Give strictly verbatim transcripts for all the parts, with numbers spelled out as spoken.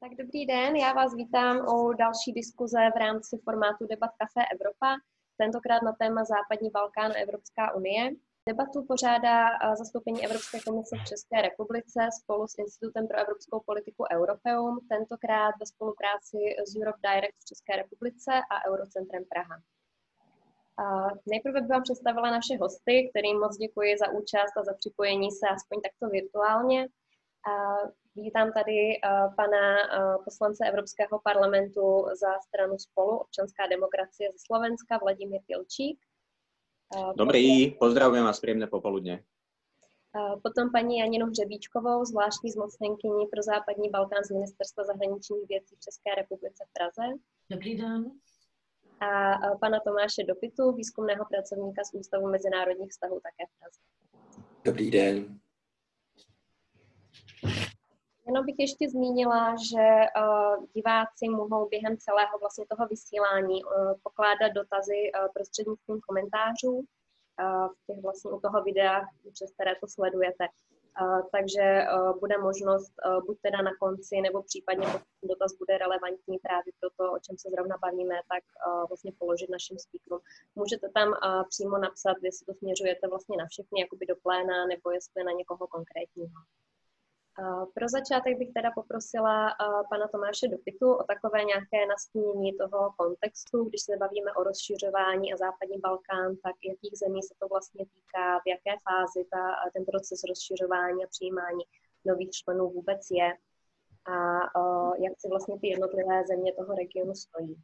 Tak dobrý den, já vás vítám u další diskuze v rámci formátu Debat Café Evropa, tentokrát na téma Západní Balkán a Evropská unie. Debatu pořádá zastoupení Evropské komise v České republice spolu s Institutem pro evropskou politiku Europeum, tentokrát ve spolupráci s Europe Direct v České republice a Eurocentrem Praha. Nejprve bych vám představila naše hosty, kterým moc děkuji za účast a za připojení se aspoň takto virtuálně. Vítám tady pana poslance Evropského parlamentu za stranu Spolu, občanská demokracie ze Slovenska, Vladimír Tilčík. Dobrý, pozdravujem vás, príjemné popoludne. Potom paní Janinu Hřebíčkovou, zvláštní zmocněnkyni pro západní Balkán z Ministerstva zahraničních věcí v České republice v Praze. Dobrý den. A pana Tomáše Dopitu, výzkumného pracovníka z Ústavu mezinárodních vztahů také v Praze. Dobrý den. Jenom bych ještě zmínila, že uh, diváci mohou během celého vlastně toho vysílání uh, pokládat dotazy uh, prostřednictvím komentářů uh, v těch vlastně u toho videa, přes které to sledujete. Uh, takže uh, bude možnost uh, buď teda na konci, nebo případně pokud ten dotaz bude relevantní právě pro to, o čem se zrovna bavíme, tak uh, vlastně položit našim speakerům. Můžete tam uh, přímo napsat, jestli to směřujete vlastně na všechny, jakoby do pléna, nebo jestli na někoho konkrétního. Pro začátek bych teda poprosila pana Tomáše Dopitu o takové nějaké nastínění toho kontextu, když se bavíme o rozšiřování a západní Balkán, tak jakých zemí se to vlastně týká, v jaké fázi ta, ten proces rozšiřování a přijímání nových členů vůbec je a jak si vlastně ty jednotlivé země toho regionu stojí.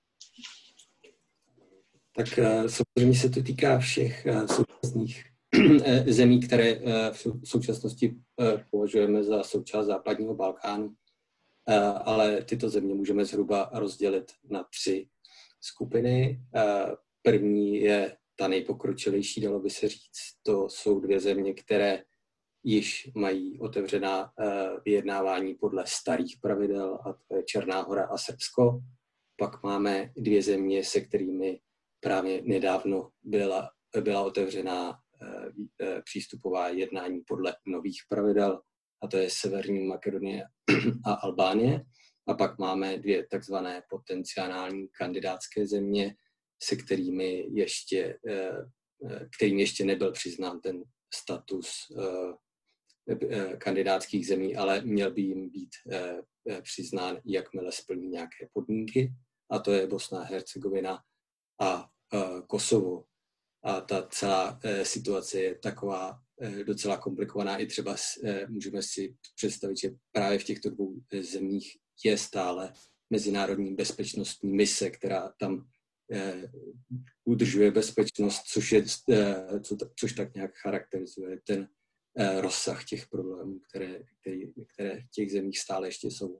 Tak samozřejmě se to týká všech současných zemí, které v současnosti považujeme za součást západního Balkánu, ale tyto země můžeme zhruba rozdělit na tři skupiny. První je ta nejpokročilejší, dalo by se říct, to jsou dvě země, které již mají otevřená vyjednávání podle starých pravidel, a to je Černá Hora a Srbsko. Pak máme dvě země, se kterými právě nedávno byla, byla otevřená přístupová jednání podle nových pravidel, a to je Severní Makedonie a Albánie. A pak máme dvě takzvané potenciální kandidátské země, se kterými ještě, kterým ještě nebyl přiznán ten status kandidátských zemí, ale měl by jim být přiznán, jakmile splní nějaké podmínky. A to je Bosna a Hercegovina a Kosovo. A ta celá e, situace je taková e, docela komplikovaná. I třeba e, můžeme si představit, že právě v těchto dvou e, zemích je stále mezinárodní bezpečnostní mise, která tam e, udržuje bezpečnost, což, je, e, co, což tak nějak charakterizuje ten e, rozsah těch problémů, které, který, které v těch zemích stále ještě jsou.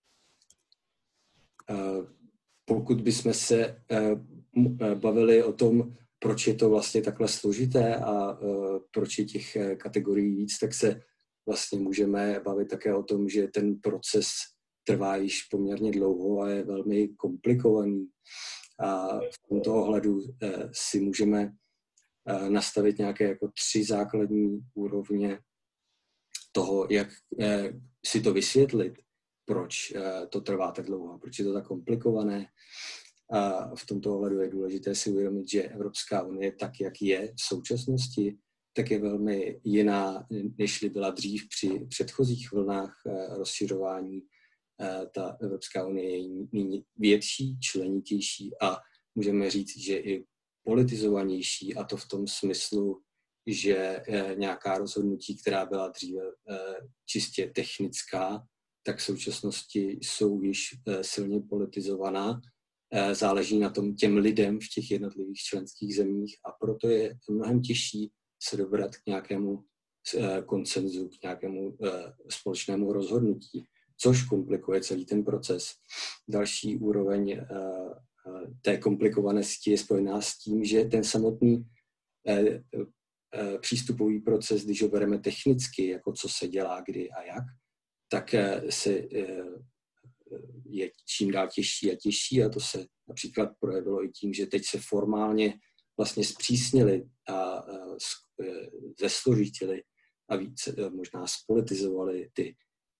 E, pokud bychom se e, bavili o tom, proč je to vlastně takhle složité a uh, proč je těch kategorií víc, tak se vlastně můžeme bavit také o tom, že ten proces trvá již poměrně dlouho a je velmi komplikovaný. A v tomto ohledu uh, si můžeme uh, nastavit nějaké jako tři základní úrovně toho, jak uh, si to vysvětlit, proč uh, to trvá tak dlouho, proč je to tak komplikované. A v tomto ohledu je důležité si uvědomit, že Evropská unie, tak jak je v současnosti, tak je velmi jiná, než byla dřív při předchozích vlnách rozšiřování. Ta Evropská unie je nyní větší, členitější a můžeme říct, že i politizovanější, a to v tom smyslu, že nějaká rozhodnutí, která byla dříve čistě technická, tak v současnosti jsou již silně politizovaná. Záleží na tom těm lidem v těch jednotlivých členských zemích a proto je mnohem těžší se dobrat k nějakému konsenzu, k nějakému společnému rozhodnutí, což komplikuje celý ten proces. Další úroveň té komplikovanosti je spojená s tím, že ten samotný přístupový proces, když ho bereme technicky, jako co se dělá, kdy a jak, tak se je čím dál těžší a těžší, a to se například projevilo i tím, že teď se formálně vlastně zpřísnili a zesložitili a více možná spolitizovali ty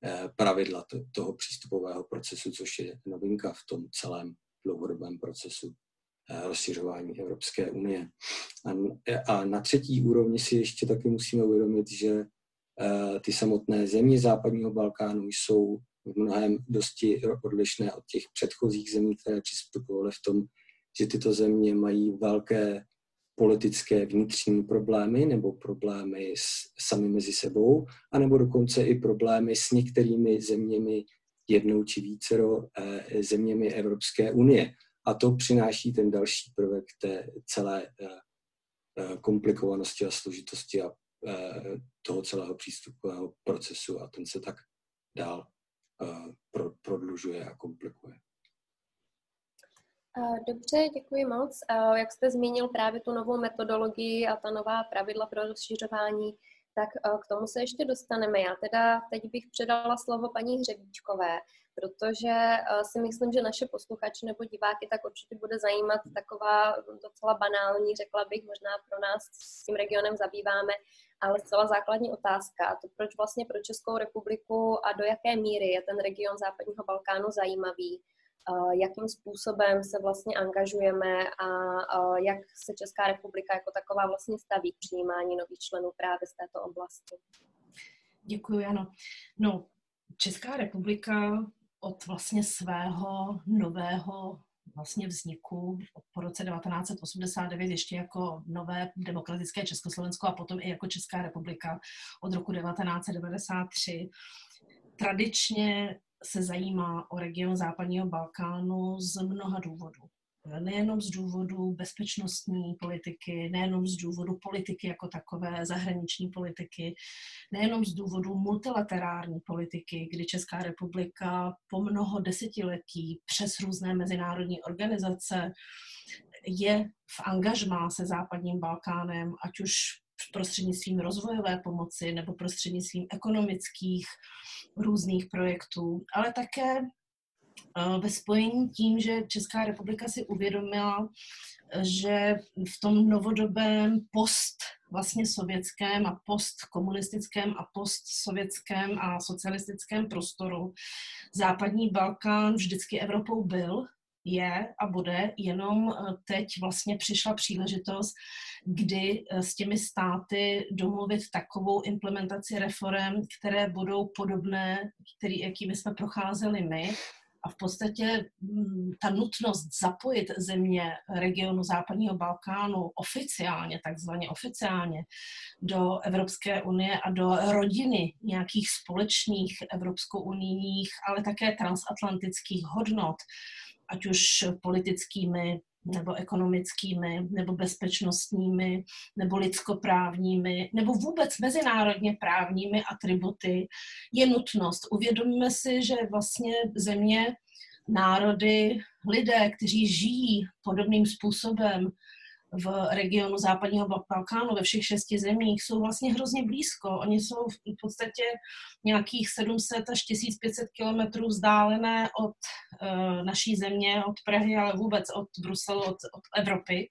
pravidla toho přístupového procesu, což je novinka v tom celém dlouhodobém procesu rozšiřování Evropské unie. A na třetí úrovni si ještě taky musíme uvědomit, že ty samotné země západního Balkánu jsou v mnohém dosti odlišné od těch předchozích zemí, které přistupovaly v tom, že tyto země mají velké politické vnitřní problémy nebo problémy s, sami mezi sebou, anebo dokonce i problémy s některými zeměmi, jednou či vícero eh, zeměmi Evropské unie. A to přináší ten další prvek té celé eh, komplikovanosti a složitosti a eh, toho celého přístupového procesu a ten se tak dál eh, pro, prodlužuje a komplikuje. Dobře, děkuji moc. Jak jste zmínil právě tu novou metodologii a ta nová pravidla pro rozšiřování, tak k tomu se ještě dostaneme. Já teda teď bych předala slovo paní Hřebíčkové, protože si myslím, že naše posluchače nebo diváky tak určitě bude zajímat taková docela banální, řekla bych, možná pro nás s tím regionem zabýváme, ale zcela základní otázka. A to proč vlastně pro Českou republiku a do jaké míry je ten region západního Balkánu zajímavý, jakým způsobem se vlastně angažujeme a jak se Česká republika jako taková vlastně staví k přijímání nových členů právě z této oblasti. Děkuji, Jano. No, Česká republika od vlastně svého nového vlastně vzniku po roce devatenáct set osmdesát devět ještě jako nové demokratické Československo a potom i jako Česká republika od roku devatenáct set devadesát tři tradičně se zajímá o region západního Balkánu z mnoha důvodů. Nejenom z důvodu bezpečnostní politiky, nejenom z důvodu politiky jako takové, zahraniční politiky, nejenom z důvodu multilaterální politiky, kdy Česká republika po mnoho desetiletí přes různé mezinárodní organizace je v angažmá se západním Balkánem, ať už prostřednictvím rozvojové pomoci nebo prostřednictvím ekonomických různých projektů, ale také ve spojení tím, že Česká republika si uvědomila, že v tom novodobém post vlastně sovětském a postkomunistickém a postsovětském a socialistickém prostoru západní Balkán vždycky Evropou byl, je a bude, jenom teď vlastně přišla příležitost, kdy s těmi státy domluvit takovou implementaci reforem, které budou podobné, který, jakými jsme procházeli my. A v podstatě ta nutnost zapojit země regionu západního Balkánu oficiálně, takzvaně oficiálně, do Evropské unie a do rodiny nějakých společných evropsko-unijních, ale také transatlantických hodnot, ať už politickými, nebo ekonomickými, nebo bezpečnostními, nebo lidskoprávními, nebo vůbec mezinárodně právními atributy, je nutnost. Uvědomíme si, že vlastně země, národy, lidé, kteří žijí podobným způsobem v regionu západního Balkánu, ve všech šesti zemích, jsou vlastně hrozně blízko. Oni jsou v podstatě nějakých sedm set až tisíc pět set kilometrů vzdálené od uh, naší země, od Prahy, ale vůbec od Bruselu, od, od Evropy.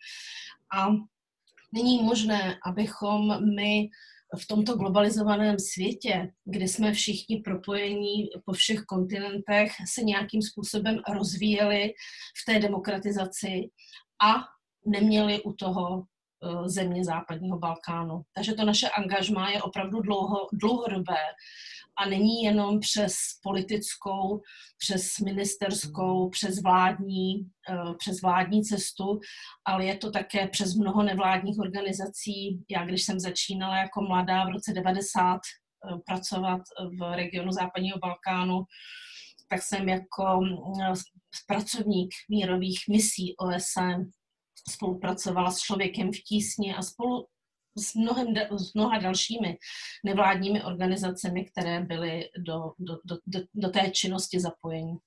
A není možné, abychom my v tomto globalizovaném světě, kde jsme všichni propojení po všech kontinentech, se nějakým způsobem rozvíjeli v té demokratizaci a neměli u toho země západního Balkánu. Takže to naše angažmá je opravdu dlouho, dlouhodobé a není jenom přes politickou, přes ministerskou, přes vládní, přes vládní cestu, ale je to také přes mnoho nevládních organizací. Já, když jsem začínala jako mladá v roce devadesát pracovat v regionu západního Balkánu, tak jsem jako pracovník mírových misí O S N spolupracovala s Člověkem v tísni a spolu s, mnohem, s mnoha dalšími nevládními organizacemi, které byly do, do, do, do té činnosti zapojení.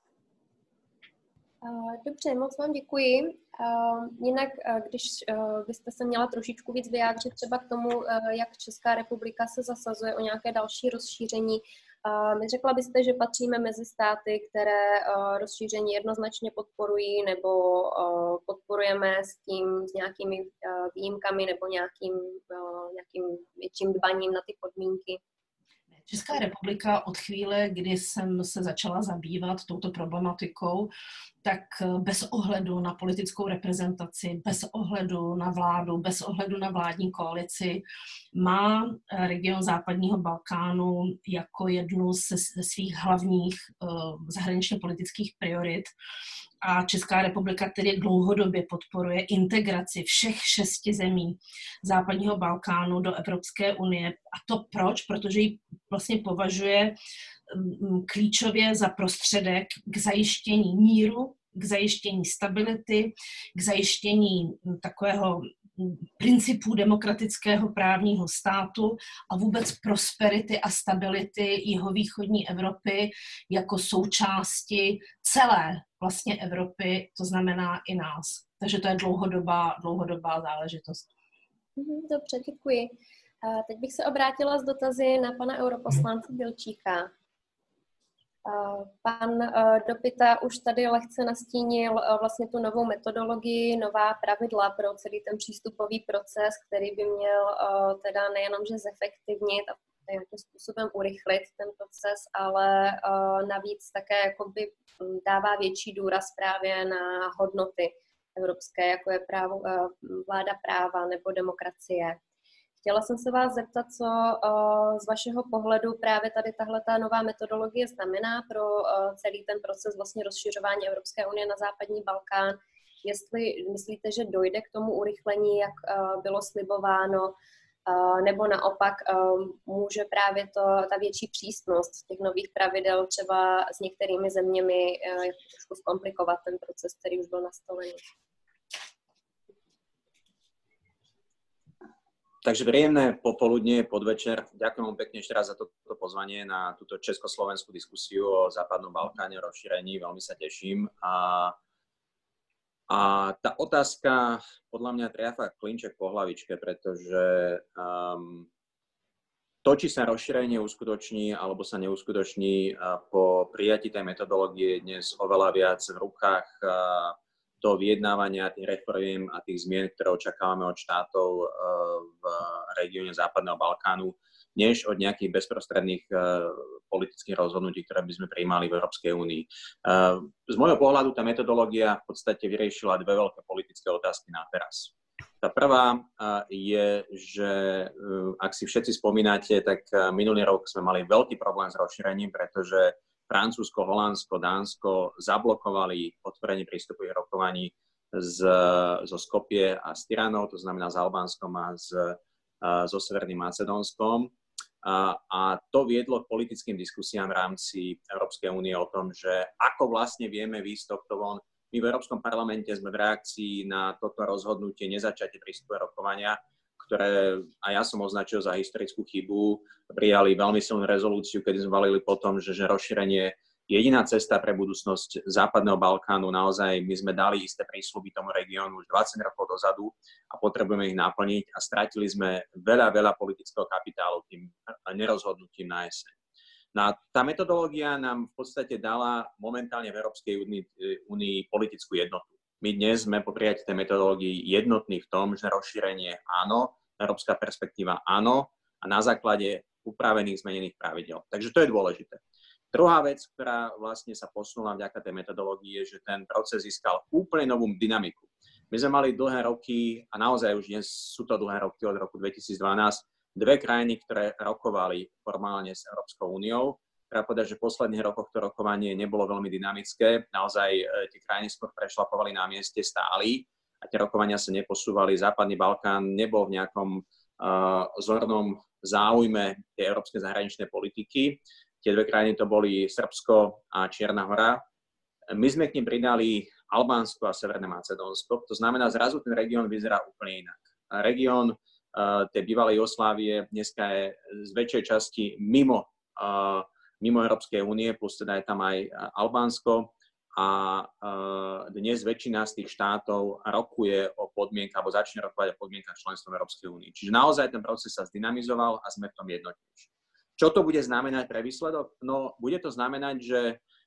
Dobře, moc vám děkuji. Jinak, když byste se měla trošičku víc vyjádřit třeba k tomu, jak Česká republika se zasazuje o nějaké další rozšíření, řekla byste, že patříme mezi státy, které rozšíření jednoznačně podporují, nebo podporujeme s tím, s nějakými Uh, výjimkami nebo nějakým, nějakým větším dbaním na ty podmínky? Česká republika od chvíle, kdy jsem se začala zabývat touto problematikou, tak bez ohledu na politickou reprezentaci, bez ohledu na vládu, bez ohledu na vládní koalici, má region západního Balkánu jako jednu ze svých hlavních uh, zahraničně politických priorit. A Česká republika tedy dlouhodobě podporuje integraci všech šesti zemí západního Balkánu do Evropské unie. A to proč? Protože ji vlastně považuje klíčově za prostředek k zajištění míru, k zajištění stability, k zajištění takového principů demokratického právního státu a vůbec prosperity a stability jihovýchodní Evropy jako součásti celé vlastně Evropy, to znamená i nás. Takže to je dlouhodobá, dlouhodobá záležitost. Dobře, děkuji. Teď bych se obrátila s dotazy na pana europoslance Bilčíka. Pan Dopita už tady lehce nastínil vlastně tu novou metodologii, nová pravidla pro celý ten přístupový proces, který by měl teda nejenom, že zefektivnit a nějakým způsobem urychlit ten proces, ale navíc také jakoby dává větší důraz právě na hodnoty evropské, jako je právo, vláda práva nebo demokracie. Chtěla jsem se vás zeptat, co uh, z vašeho pohledu právě tady tahleta nová metodologie znamená pro uh, celý ten proces vlastně rozšiřování Evropské unie na západní Balkán. Jestli myslíte, že dojde k tomu urychlení, jak uh, bylo slibováno, uh, nebo naopak uh, může právě to, ta větší přísnost těch nových pravidel třeba s některými zeměmi uh, trošku zkomplikovat ten proces, který už byl nastolený. Takže príjemné popoludnie, podvečer. Ďakujem vám pekne ešte raz za toto pozvanie na túto československú diskusiu o západnom Balkáne, o rozšírení. Veľmi sa teším. A, a tá otázka podľa mňa triafa klinček po hlavičke, pretože um, to, či sa rozšírenie uskutoční alebo sa neuskutoční uh, po prijatí tej metodológie je dnes oveľa viac v rukách uh, do vyjednávania tých reforiem a tých zmien, ktoré očakávame od štátov v regióne Západného Balkánu, než od nejakých bezprostredných politických rozhodnutí, ktoré by sme prijímali v Európskej únii. Z môjho pohľadu tá metodológia v podstate vyriešila dve veľké politické otázky na teraz. Tá prvá je, že ak si všetci spomínate, tak minulý rok sme mali veľký problém s rozšírením, pretože Francúzsko, Holandsko, Dánsko zablokovali otvorenie prístupových rokovaní z, zo Skopje a s Tiranou, to znamená s Albánskom a s, a, so Severným Macedónskom. A, a to viedlo k politickým diskusiám v rámci Európskej únie o tom, že ako vlastne vieme výjsť tohto von. My v Európskom parlamente sme v reakcii na toto rozhodnutie nezačatie prístupového rokovania, ktoré a ja som označil za historickú chybu, prijali veľmi silnú rezolúciu, kedy sme valili po tom, že, že rozšírenie je jediná cesta pre budúcnosť Západného Balkánu. Naozaj my sme dali isté prísľuby tomu regiónu už dvadsať rokov dozadu a potrebujeme ich naplniť a stratili sme veľa, veľa politického kapitálu tým nerozhodnutím na jeseň. No tá metodológia nám v podstate dala momentálne v Európskej únii, únii politickú jednotu. My dnes sme po prijatí tej metodológii jednotní v tom, že rozšírenie áno, európska perspektíva áno a na základe upravených zmenených pravidel. Takže to je dôležité. Druhá vec, ktorá vlastne sa posunula vďaka tej metodológii, je, že ten proces získal úplne novú dynamiku. My sme mali dlhé roky, a naozaj už dnes sú to dlhé roky od roku dvetisícdvanásť, dve krajiny, ktoré rokovali formálne s Európskou úniou. Treba povedať, že v posledných rokoch to rokovanie nebolo veľmi dynamické. Naozaj tie krajiny skôr prešlapovali na mieste, stáli a tie rokovania sa neposúvali. Západný Balkán nebol v nejakom uh, zornom záujme tej európskej zahraničnej politiky. Tie dve krajiny to boli Srbsko a Čierna Hora. My sme k nim pridali Albánsko a Severné Macedónsko. To znamená, zrazu ten región vyzerá úplne inak. Región uh, tej bývalej Jugoslávie dneska je z väčšej časti mimo uh, mimo Európskej únie, plus teda je tam aj Albánsko a dnes väčšina z tých štátov rokuje o podmienkach, alebo začne rokovať o podmienkach členstva v Európskej únii. Čiže naozaj ten proces sa zdynamizoval a sme v tom jednotnejší. Čo to bude znamenať pre výsledok? No, bude to znamenať, že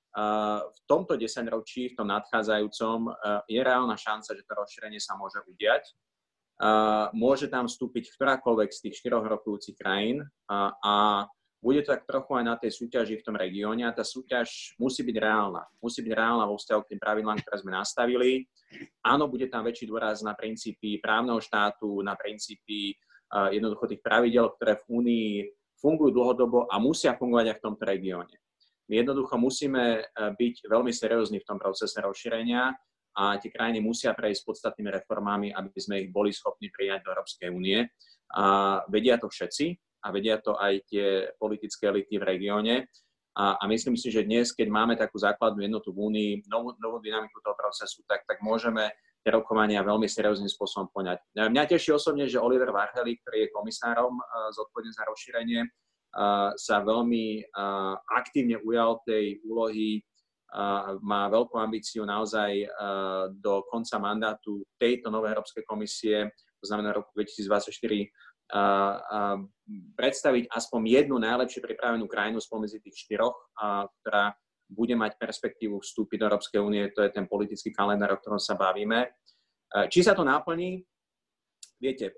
v tomto desaťročí, v tom nadchádzajúcom, je reálna šanca, že to rozšírenie sa môže udiať. Môže tam vstúpiť ktorákoľvek z tých štyroch rokujúcich krajín a bude to tak trochu aj na tej súťaži v tom regióne a tá súťaž musí byť reálna. Musí byť reálna vo vzťahu k tým pravidlám, ktoré sme nastavili. Áno, bude tam väčší dôraz na princípy právneho štátu, na princípy uh, jednoducho tých pravidel, ktoré v Únii fungujú dlhodobo a musia fungovať aj v tomto regióne. My jednoducho musíme byť veľmi seriózni v tom procese rozšírenia a tie krajiny musia prejsť podstatnými reformami, aby sme ich boli schopní prijať do Európskej únie. A vedia to všetci a vedia to aj tie politické elity v regióne. A, a myslím si, že dnes, keď máme takú základnú jednotu v Únii, novú, novú dynamiku toho procesu, tak, tak môžeme tie rokovania veľmi serióznym spôsobom poňať. Mňa teší osobne, že Oliver Varhelyi, ktorý je komisárom zodpovedný za rozšírenie, sa veľmi aktívne ujal tej úlohy, má veľkú ambíciu naozaj do konca mandátu tejto novej Európskej komisie, to znamená roku dvetisícdvadsaťštyri, predstaviť aspoň jednu najlepšie pripravenú krajinu spomedzi tých štyroch, ktorá bude mať perspektívu vstúpiť do Európskej únie, to je ten politický kalendár, o ktorom sa bavíme. Či sa to naplní? Viete,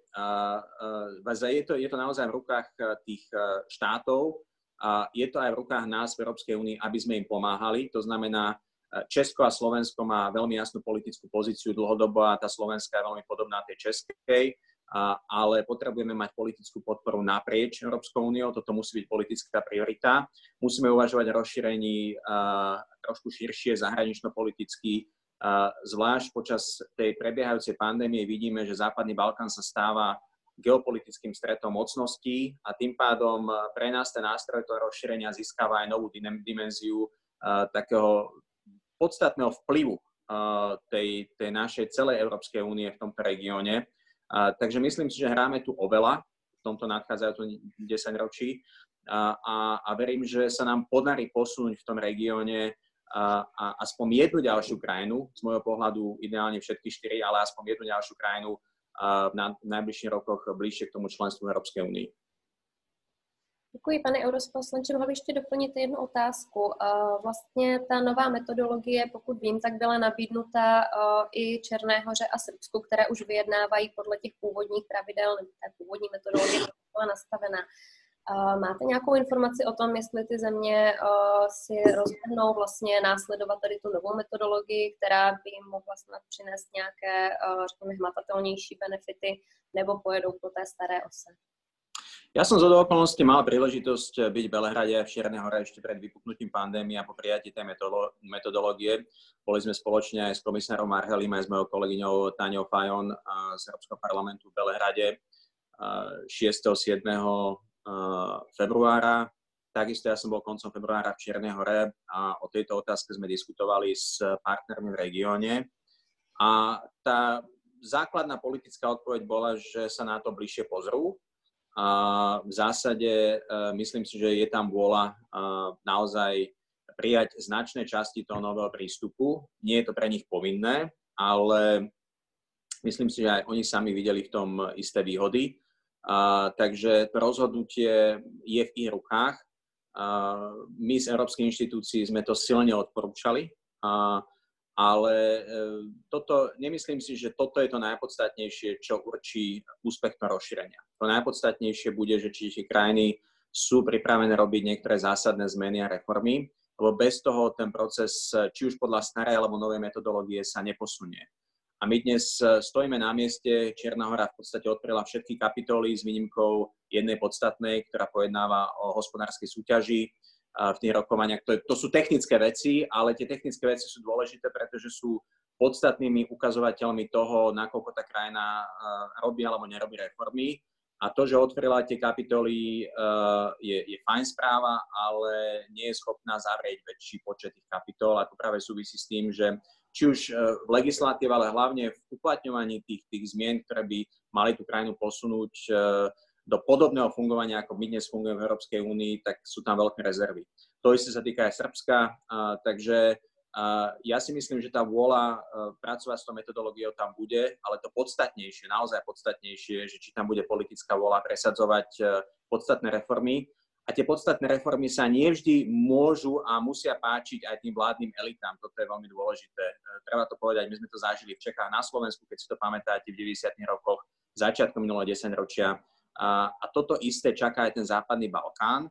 je to, je to naozaj v rukách tých štátov, je to aj v rukách nás v Európskej únii, aby sme im pomáhali. To znamená, Česko a Slovensko má veľmi jasnú politickú pozíciu dlhodobo a tá slovenská je veľmi podobná tej českej, ale potrebujeme mať politickú podporu naprieč Európskou úniou, toto musí byť politická priorita. Musíme uvažovať o rozšírení trošku širšie, zahranično-politicky. Zvlášť počas tej prebiehajúcej pandémie vidíme, že Západný Balkán sa stáva geopolitickým stretom mocností a tým pádom pre nás ten nástroj toho rozšírenia získava aj novú dimenziu takého podstatného vplyvu tej, tej našej celej Európskej únie v tomto regióne. A, takže myslím si, že hráme tu oveľa v tomto nadchádzajúcom desaťročí a, a, a verím, že sa nám podarí posunúť v tom regióne a, a aspoň jednu ďalšiu krajinu, z môjho pohľadu ideálne všetky štyri, ale aspoň jednu ďalšiu krajinu a, v, na, v najbližších rokoch bližšie k tomu členstvu Európskej únii. Děkuji, pane europoslanče. Mohl bych ještě doplnit jednu otázku. Vlastně ta nová metodologie, pokud vím, tak byla nabídnuta i Černé Hoře a Srbsku, které už vyjednávají podle těch původních pravidel, nebo té původní metodologie byla nastavena. Máte nějakou informaci o tom, jestli ty země si rozhodnou vlastně následovat tady tu novou metodologii, která by jim mohla snad přinést nějaké, řekněme, hmatatelnější benefity, nebo pojedou po té staré ose? Ja som z okolností mal príležitosť byť v Belehrade a v Čiernej Hore ešte pred vypuknutím pandémie a po prijatí tej metodológie. Boli sme spoločne aj s komisárom Varhelim, aj s mojou kolegyňou Táňou Fajon z Európskeho parlamentu v Belehrade šiesteho siedmeho februára. Takisto ja som bol koncom februára v Čiernej Hore a o tejto otázke sme diskutovali s partnermi v regióne. A tá základná politická odpoveď bola, že sa na to bližšie pozrú. A v zásade myslím si, že je tam vôľa naozaj prijať značné časti toho nového prístupu. Nie je to pre nich povinné, ale myslím si, že aj oni sami videli v tom isté výhody. A, takže to rozhodnutie je v ich rukách. A, my z európskych inštitúcií sme to silne odporúčali, a, ale e, toto, nemyslím si, že toto je to najpodstatnejšie, čo určí úspech toho rozšírenia. To najpodstatnejšie bude, že či tie krajiny sú pripravené robiť niektoré zásadné zmeny a reformy, lebo bez toho ten proces, či už podľa starej alebo novej metodológie, sa neposunie. A my dnes stojíme na mieste, Čierna Hora v podstate odpryla všetky kapitoly s výnimkou jednej podstatnej, ktorá pojednáva o hospodárskej súťaži v tých rokovaniach. To, to sú technické veci, ale tie technické veci sú dôležité, pretože sú podstatnými ukazovateľmi toho, nakoľko tá krajina robí alebo nerobí reformy. A to, že otvorila tie kapitoly, je, je fajn správa, ale nie je schopná zavrieť väčší počet tých kapitol. A to práve súvisí s tým, že či už v legislatíve, ale hlavne v uplatňovaní tých, tých zmien, ktoré by mali tú krajinu posunúť do podobného fungovania, ako my dnes fungujeme v Európskej únii, tak sú tam veľké rezervy. To isté sa týka aj Srbska, takže ja si myslím, že tá vôľa pracovať s tou metodológiou tam bude, ale to podstatnejšie, naozaj podstatnejšie, že či tam bude politická vôľa presadzovať podstatné reformy. A tie podstatné reformy sa nevždy môžu a musia páčiť aj tým vládnym elitám. Toto je veľmi dôležité. Treba to povedať, my sme to zažili v Čechách, na Slovensku, keď si to pamätáte, v deväťdesiatych rokoch, začiatkom minulého desaťročia. A, a toto isté čaká aj ten Západný Balkán.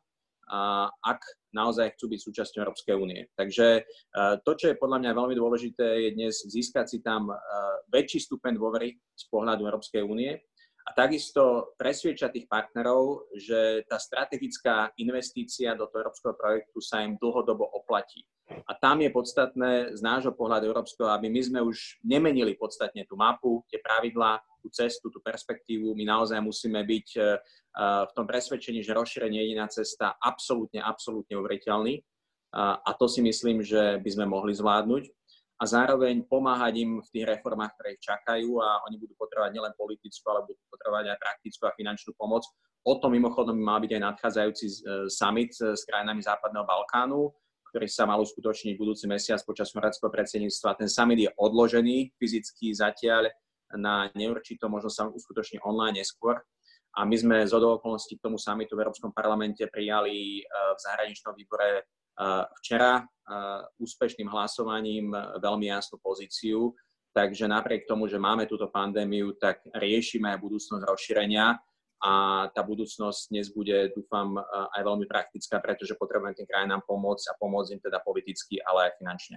ak naozaj chcú byť súčasťou Európskej únie. Takže to, čo je podľa mňa veľmi dôležité, je dnes získať si tam väčší stupeň dôvery z pohľadu Európskej únie a takisto presviedčať tých partnerov, že tá strategická investícia do toho európskeho projektu sa im dlhodobo oplatí. A tam je podstatné z nášho pohľadu európskeho, aby my sme už nemenili podstatne tú mapu, tie pravidlá, tú cestu, tú perspektívu. My naozaj musíme byť v tom presvedčení, že rozšírenie je jediná cesta absolútne, absolútne uveriteľný. A to si myslím, že by sme mohli zvládnuť. A zároveň pomáhať im v tých reformách, ktoré ich čakajú a oni budú potrebovať nielen politickú, ale budú potrebovať aj praktickú a finančnú pomoc. O tom mimochodom má byť aj nadchádzajúci summit s krajinami Západného Balkánu, ktorý sa mal uskutočniť budúci mesiac počas chorvátskeho predsedníctva. Ten summit je odložený fyzicky zatiaľ na neurčito, možno sa uskutoční online neskôr. A my sme z okolností k tomu summitu v Európskom parlamente prijali v zahraničnom výbore včera úspešným hlasovaním veľmi jasnú pozíciu. Takže napriek tomu, že máme túto pandémiu, tak riešime aj budúcnosť rozšírenia a tá budúcnosť dnes bude, dúfam, aj veľmi praktická, pretože potrebujeme tým krajinám pomôcť a pomôcť im teda politicky, ale aj finančně.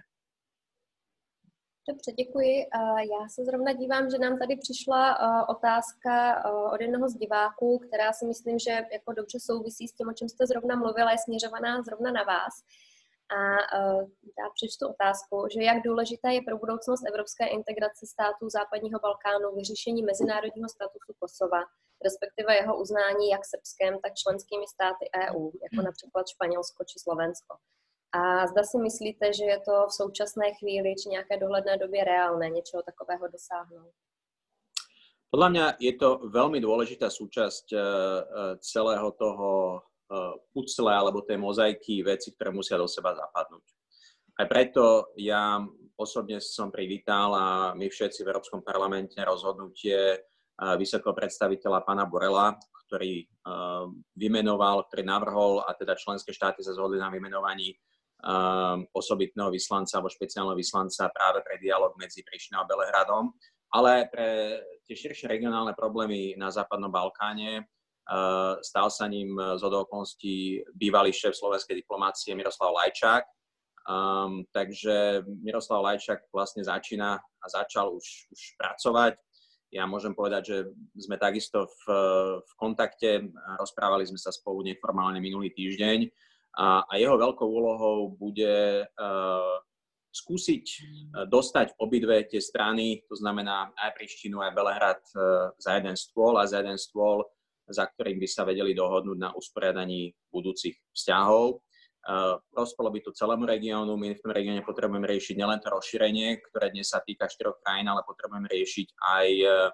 Dobře, děkuji. Já se zrovna dívám, že nám tady přišla otázka od jednoho z diváků, která si myslím, že jako dobře souvisí s tím, o čem jste zrovna mluvila, je směřovaná zrovna na vás. A já přečtu otázku, že jak důležitá je pro budoucnost evropské integrace států západního Balkánu vyřešení mezinárodního statusu Kosova, respektive jeho uznání jak Srbskem, tak členskými státy E U, jako například Španělsko či Slovensko. A zda si myslíte, že je to v současné chvíli či nějaké dohledné době reálné něčeho takového dosáhnout? Podľa mňa je to veľmi dôležitá súčasť celého toho pucle alebo tej mozaiky veci, ktoré musia do seba zapadnúť. Aj preto ja osobne som privítal a my všetci v Európskom parlamente rozhodnutie vysokého predstaviteľa pána Borrella, ktorý vymenoval, ktorý navrhol a teda členské štáty sa zhodli na vymenovaní osobitného vyslanca alebo špeciálneho vyslanca práve pre dialog medzi Prištinou a Belehradom, ale pre tie širšie regionálne problémy na Západnom Balkáne. Stal sa ním zhodou okolností bývalý šéf slovenskej diplomácie Miroslav Lajčák. Um, takže Miroslav Lajčák vlastne začína a začal už, už pracovať. Ja môžem povedať, že sme takisto v, v kontakte, rozprávali sme sa spolu neformálne minulý týždeň a, a jeho veľkou úlohou bude uh, skúsiť dostať obidve tie strany, to znamená aj Prištinu, aj Belehrad uh, za jeden stôl a za jeden stôl, za ktorým by sa vedeli dohodnúť na usporiadaní budúcich vzťahov. Uh, prospelo by to celému regiónu. My v tom regióne potrebujeme riešiť nielen to rozšírenie, ktoré dnes sa týka štyroch krajín, ale potrebujeme riešiť aj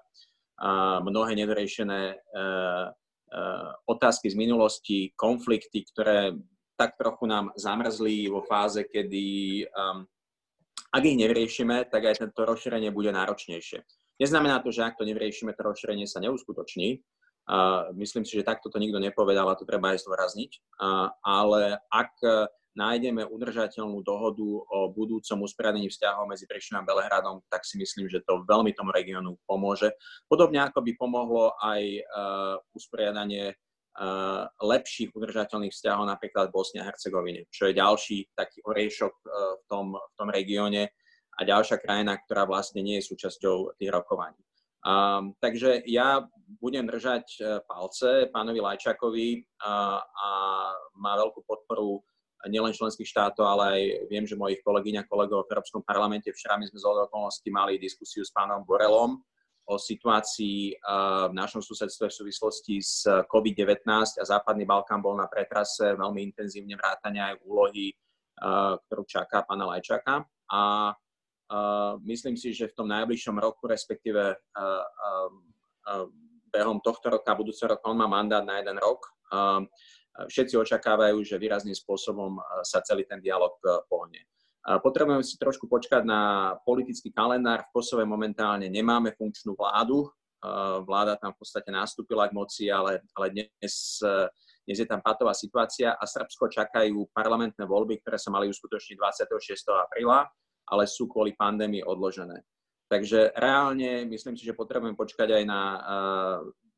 uh, mnohé nedoriešené uh, uh, otázky z minulosti, konflikty, ktoré tak trochu nám zamrzli vo fáze, kedy um, ak ich nevyriešime, tak aj to rozšírenie bude náročnejšie. Neznamená to, že ak to nevyriešime, to rozšírenie sa neuskutoční. Uh, myslím si, že takto to nikto nepovedal a to treba aj zdôrazniť. Uh, ale ak nájdeme udržateľnú dohodu o budúcom usporiadaní vzťahov medzi Prištinou a Belehradom, tak si myslím, že to veľmi tomu regiónu pomôže. Podobne ako by pomohlo aj uh, usporiadanie uh, lepších udržateľných vzťahov napríklad v Bosne a Hercegovine, čo je ďalší taký oriešok uh, v tom, v tom regióne a ďalšia krajina, ktorá vlastne nie je súčasťou tých rokovaní. Um, takže ja budem držať uh, palce pánovi Lajčákovi uh, a má veľkú podporu nielen členských štátov, ale aj viem, že mojich kolegyň a kolegov v Európskom parlamente. Včera my sme z okolností mali diskusiu s pánom Borrellom o situácii uh, v našom susedstve v súvislosti s COVID devätnásť a Západný Balkán bol na pretrase veľmi intenzívne vrátania aj úlohy, uh, ktorú čaká pána Lajčáka. A Uh, myslím si, že v tom najbližšom roku, respektíve uh, uh, uh, behom tohto roka, budúceho roka, on má mandát na jeden rok. Uh, všetci očakávajú, že výrazným spôsobom uh, sa celý ten dialog uh, pohne. Uh, potrebujeme si trošku počkať na politický kalendár. V Kosove momentálne nemáme funkčnú vládu. Uh, vláda tam v podstate nastúpila k moci, ale, ale dnes, uh, dnes je tam patová situácia a Srbsko čakajú parlamentné voľby, ktoré sa mali uskutočniť dvadsiateho šiesteho apríla. Ale sú kvôli pandémii odložené. Takže reálne myslím si, že potrebujeme počkať aj na uh,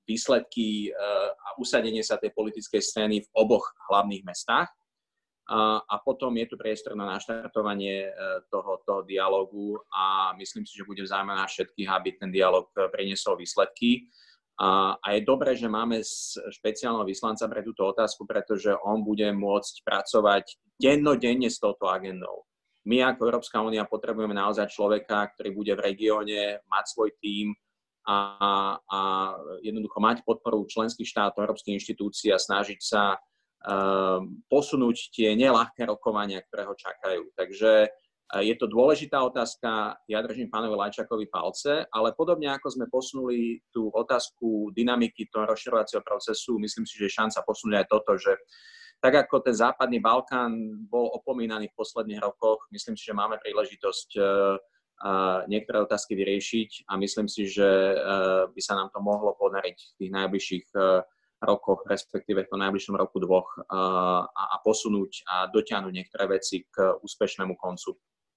výsledky a usadenie sa tej politickej scény v oboch hlavných mestách. A potom je tu priestor na naštartovanie toho, toho dialógu a myslím si, že bude v záujme nás všetkých, aby ten dialóg priniesol výsledky. A, a je dobré, že máme špeciálneho vyslanca pre túto otázku, pretože on bude môcť pracovať dennodenne s touto agendou. My ako Európska únia potrebujeme naozaj človeka, ktorý bude v regióne, mať svoj tím a, a jednoducho mať podporu členských štátov, európskych inštitúcií a snažiť sa uh, posunúť tie neľahké rokovania, ktoré ho čakajú. Takže uh, je to dôležitá otázka, ja držím pánovi Lajčákovi palce, ale podobne ako sme posunuli tú otázku dynamiky toho rozširovacieho procesu, myslím si, že je šanca posunúť aj toto, že tak ako ten západný Balkán bol opomínaný v posledných rokoch, myslím si, že máme príležitosť uh, uh, niektoré otázky vyriešiť a myslím si, že uh, by sa nám to mohlo podariť v tých najbližších uh, rokoch, respektíve v tom najbližšom roku dvoch uh, a, a posunúť a dotiahnuť niektoré veci k úspešnému koncu.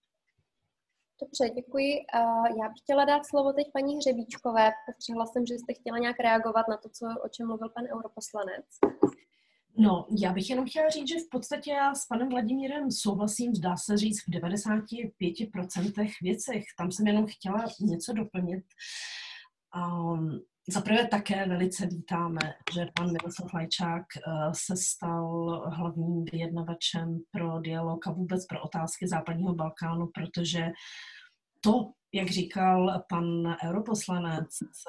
Dobře, děkuji. Já bych chtěla dát slovo teď paní Hřebíčkové. Postřehla jsem, že jste chtěla nějak reagovat na to, co, o čem mluvil pan europoslanec. No, já bych jenom chtěla říct, že v podstatě já s panem Vladimírem souhlasím, zdá se říct, v devadesáti pěti procentech věcech. Tam jsem jenom chtěla něco doplnit. Um, Zaprvé také velice vítáme, že pan Miroslav Lajčák uh, se stal hlavním vyjednavačem pro dialog a vůbec pro otázky západního Balkánu, protože to, jak říkal pan europoslanec,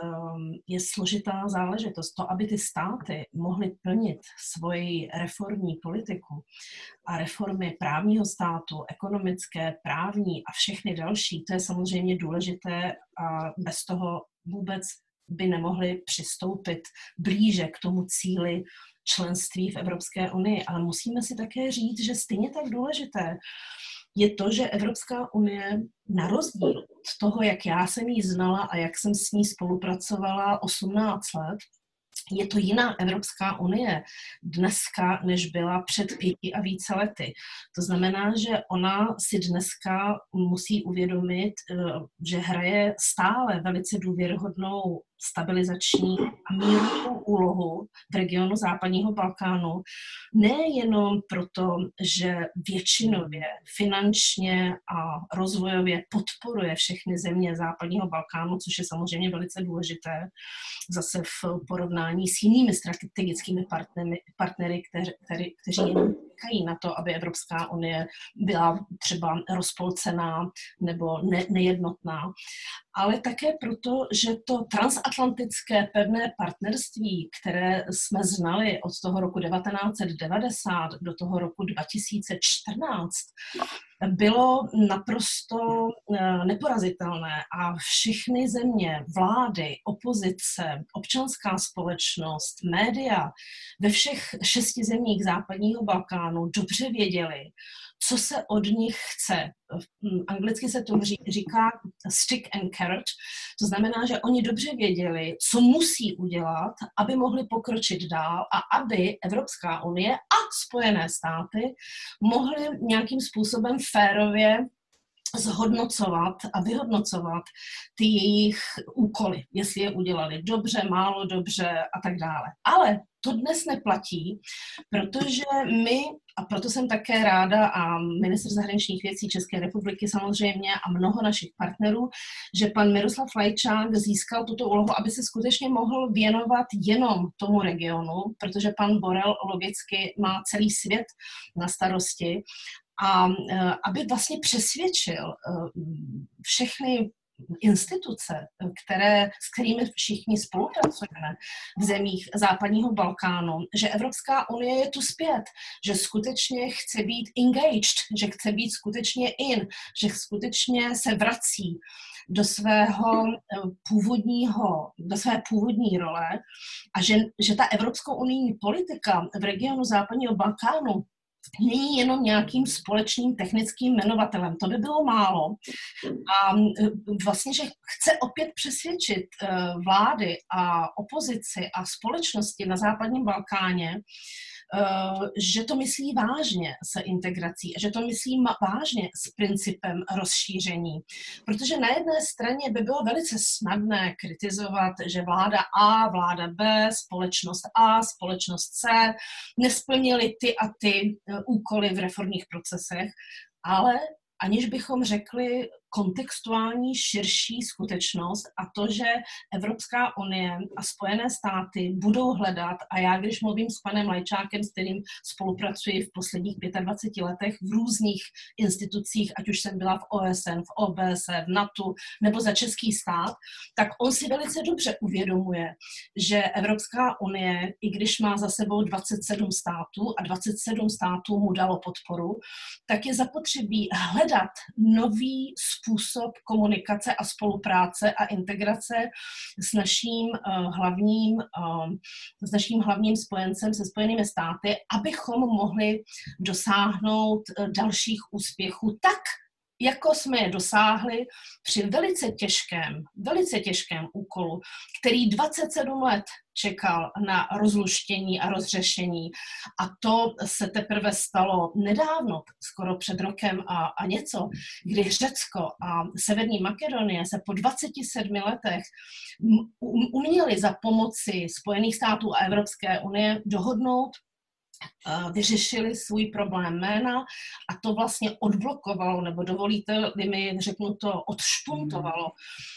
je složitá záležitost. To, aby ty státy mohly plnit svoji reformní politiku a reformy právního státu, ekonomické, právní a všechny další, to je samozřejmě důležité a bez toho vůbec by nemohli přistoupit blíže k tomu cíli členství v Evropské unii. Ale musíme si také říct, že stejně tak důležité je to, že Evropská unie na rozdíl od toho, jak já jsem ji znala a jak jsem s ní spolupracovala osmnáct let, je to jiná Evropská unie dneska, než byla před pěti a více lety. To znamená, že ona si dneska musí uvědomit, že hraje stále velice důvěryhodnou stabilizační a mírovou úlohu v regionu západního Balkánu, nejenom proto, že většinově finančně a rozvojově podporuje všechny země západního Balkánu, což je samozřejmě velice důležité, zase v porovnání s jinými strategickými partnery, partnery kteři, kteři, kteří jen čekají na to, aby Evropská unie byla třeba rozpolcená nebo ne, nejednotná, ale také proto, že to transatlantické pevné partnerství, které jsme znali od toho roku devatenáct set devadesát do toho roku dva tisíce čtrnáct, bylo naprosto neporazitelné a všechny země, vlády, opozice, občanská společnost, média ve všech šesti zemích západního Balkánu dobře věděli, co se od nich chce. Anglicky se tomu říká stick and carrot, to znamená, že oni dobře věděli, co musí udělat, aby mohli pokročit dál a aby Evropská unie a Spojené státy mohly nějakým způsobem férově zhodnocovat a vyhodnocovat ty jejich úkoly, jestli je udělali dobře, málo dobře a tak dále. Ale to dnes neplatí, protože my, a proto jsem také ráda a ministr zahraničních věcí České republiky samozřejmě a mnoho našich partnerů, že pan Miroslav Lajčák získal tuto úlohu, aby se skutečně mohl věnovat jenom tomu regionu, protože pan Borel logicky má celý svět na starosti a aby vlastně přesvědčil všechny instituce, které, s kterými všichni spolupracujeme v zemích západního Balkánu, že Evropská unie je tu zpět, že skutečně chce být engaged, že chce být skutečně in, že skutečně se vrací do svého původního, do své původní role a že, že ta evropskou unijní politika v regionu západního Balkánu není jenom nějakým společným technickým jmenovatelem. To by bylo málo. A vlastně, že chce opět přesvědčit vlády a opozici a společnosti na západním Balkáně, že to myslí vážně se integrací, že to myslí vážně s principem rozšíření. Protože na jedné straně by bylo velice snadné kritizovat, že vláda A, vláda B, společnost A, společnost C nesplnily ty a ty úkoly v reformních procesech, ale aniž bychom řekli kontextuální širší skutečnost a to, že Evropská unie a Spojené státy budou hledat, a já když mluvím s panem Lajčákem, s kterým spolupracuji v posledních dvaceti pěti letech v různých institucích, ať už jsem byla v O S N, v O B S E, v NATO nebo za český stát, tak on si velice dobře uvědomuje, že Evropská unie, i když má za sebou dvacet sedm států a dvacet sedm států mu dalo podporu, tak je zapotřebí hledat nový způsob komunikace a spolupráce a integrace s naším uh, hlavním, uh, s naším hlavním spojencem, se Spojenými státy, abychom mohli dosáhnout uh, dalších úspěchů tak, jako jsme je dosáhli při velice těžkém, velice těžkém úkolu, který dvacet sedm let čekal na rozluštění a rozřešení. A to se teprve stalo nedávno, skoro před rokem a, a něco, kdy Řecko a Severní Makedonie se po dvaceti sedmi letech uměli za pomoci Spojených států a Evropské unie dohodnout, vyřešili svůj problém jména a to vlastně odblokovalo, nebo dovolíte-li mi, řeknu to, odšpuntovalo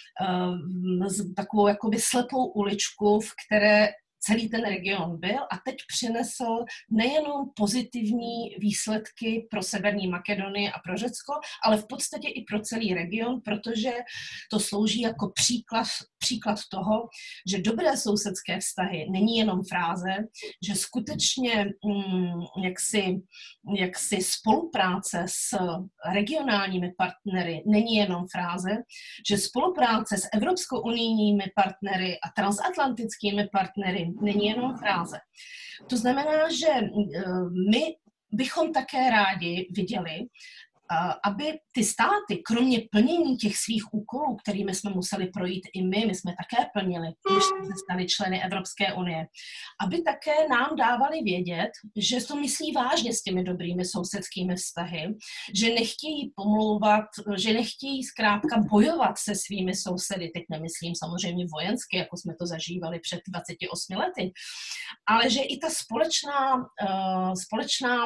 um, takovou jakoby slepou uličku, v které celý ten region byl a teď přinesl nejenom pozitivní výsledky pro Severní Makedonii a pro Řecko, ale v podstatě i pro celý region, protože to slouží jako příklad, příklad toho, že dobré sousedské vztahy není jenom fráze, že skutečně mm, jaksi, jaksi spolupráce s regionálními partnery není jenom fráze, že spolupráce s Evropskou unijními partnery a transatlantickými partnery není jenom fráze. To znamená, že my bychom také rádi viděli, aby ty státy, kromě plnění těch svých úkolů, kterými jsme museli projít i my, my jsme také plnili, když jsme se stali členy Evropské unie, aby také nám dávali vědět, že to myslí vážně s těmi dobrými sousedskými vztahy, že nechtějí pomlouvat, že nechtějí zkrátka bojovat se svými sousedy, teď nemyslím samozřejmě vojensky, jako jsme to zažívali před dvaceti osmi lety, ale že i ta společná, uh, společná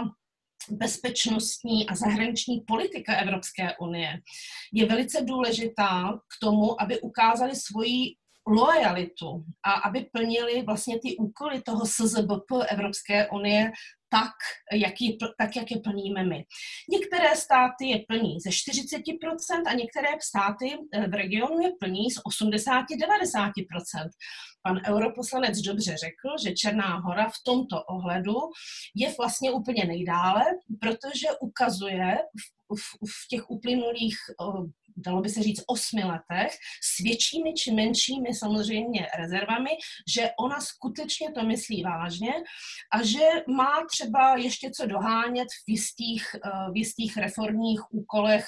bezpečnostní a zahraniční politika Evropské unie je velice důležitá k tomu, aby ukázali svoji loajalitu a aby plnili vlastně ty úkoly toho S Z B P Evropské unie tak, jak, je, tak, jak je plníme my. Některé státy je plní ze čtyřicet procent a některé státy v regionu je plní z osmdesát až devadesát procent. Pan europoslanec dobře řekl, že Černá Hora v tomto ohledu je vlastně úplně nejdále, protože ukazuje v, v, v těch uplynulých, dalo by se říct, osmi letech s většími či menšími samozřejmě rezervami, že ona skutečně to myslí vážně a že má třeba ještě co dohánět v jistých, v jistých reformních úkolech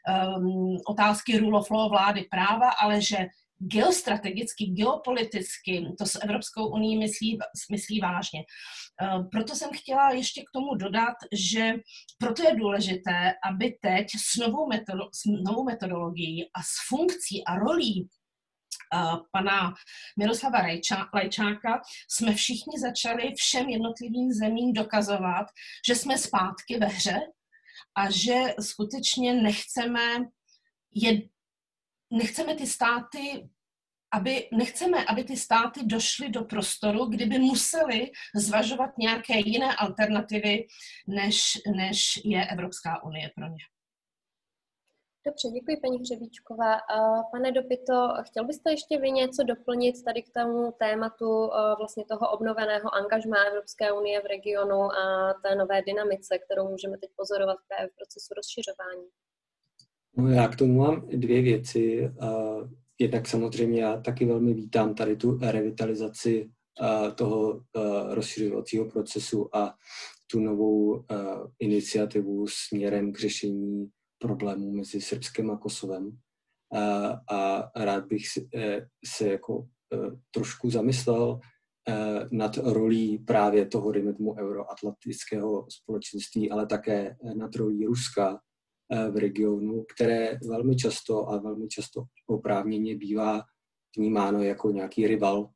um, otázky rule of law, vlády práva, ale že geostrategicky, geopoliticky to s Evropskou unií myslí, myslí vážně. Proto jsem chtěla ještě k tomu dodat, že proto je důležité, aby teď s novou, metodo- s novou metodologií a s funkcí a rolí Uh, pana Miroslava Lajčá, Lajčáka jsme všichni začali všem jednotlivým zemím dokazovat, že jsme zpátky ve hře a že skutečně nechceme, je, nechceme ty státy, aby, nechceme, aby ty státy došly do prostoru, kdyby museli zvažovat nějaké jiné alternativy, než, než je Evropská unie pro ně. Dobře, děkuji paní Hřebíčková. Pane Dopito, chtěl byste ještě vy něco doplnit tady k tomu tématu vlastně toho obnoveného angažmá Evropské unie v regionu a té nové dynamice, kterou můžeme teď pozorovat v procesu rozšiřování? No, já k tomu mám dvě věci. Jednak samozřejmě já taky velmi vítám tady tu revitalizaci toho rozšiřovacího procesu a tu novou iniciativu směrem k řešení problémů mezi Srbskem a Kosovem. A, a rád bych se, se jako trošku zamyslel nad rolí právě toho, dejme tomu, euroatlantického společenství, ale také nad rolí Ruska v regionu, které velmi často a velmi často oprávněně bývá vnímáno jako nějaký rival,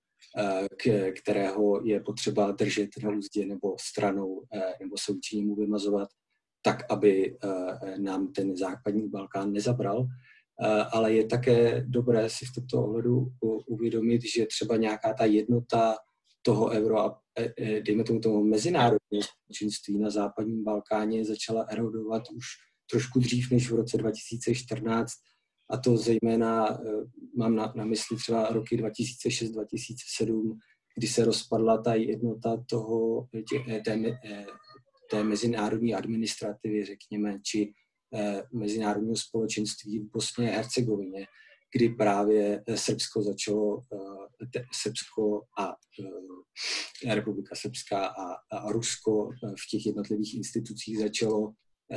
kterého je potřeba držet na úzdě nebo stranou, nebo se vůči němu vymazovat, tak, aby nám ten západní Balkán nezabral. Ale je také dobré si v tomto ohledu uvědomit, že třeba nějaká ta jednota toho euro a dejme tomu tomu mezinárodního společenství na západním Balkáně začala erodovat už trošku dřív než v roce dva tisíce čtrnáct, a to zejména mám na, na mysli třeba roky dva tisíce šest dva tisíce sedm, kdy se rozpadla ta jednota toho, tě, té, té mezinárodní administrativy, řekněme, či mezinárodního společenství v Bosně a Hercegovině, kdy právě Srbsko začalo, Srbsko a Republika Srbská a, a Rusko v těch jednotlivých institucích začalo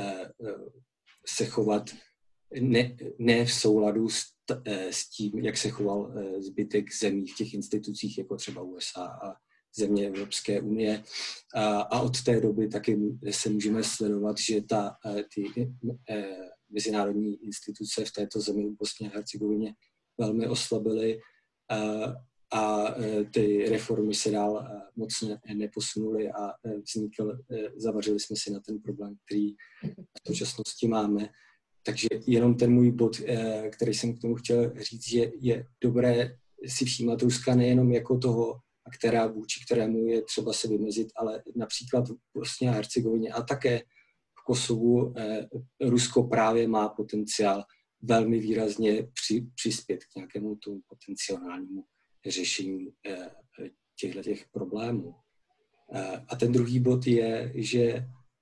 se chovat ne, ne v souladu s, s tím, jak se choval zbytek zemí v těch institucích, jako třeba U S A a země Evropské unie. A, a od té doby taky se můžeme sledovat, že ta, ty mezinárodní instituce v této zemi v Bosně a Hercegovině velmi oslabily a, a ty reformy se dál moc neposunuly a vznikl, zavařili jsme si na ten problém, který v současnosti máme. Takže jenom ten můj bod, který jsem k tomu chtěl říct, že je dobré si všímat Ruska nejenom jako toho aktéra, vůči kterému je třeba se vymezit, ale například v Bosně a Hercegovině a také v Kosovu Rusko právě má potenciál velmi výrazně při, přispět k nějakému tomu potenciálnímu řešení těchto těch problémů. A ten druhý bod je, že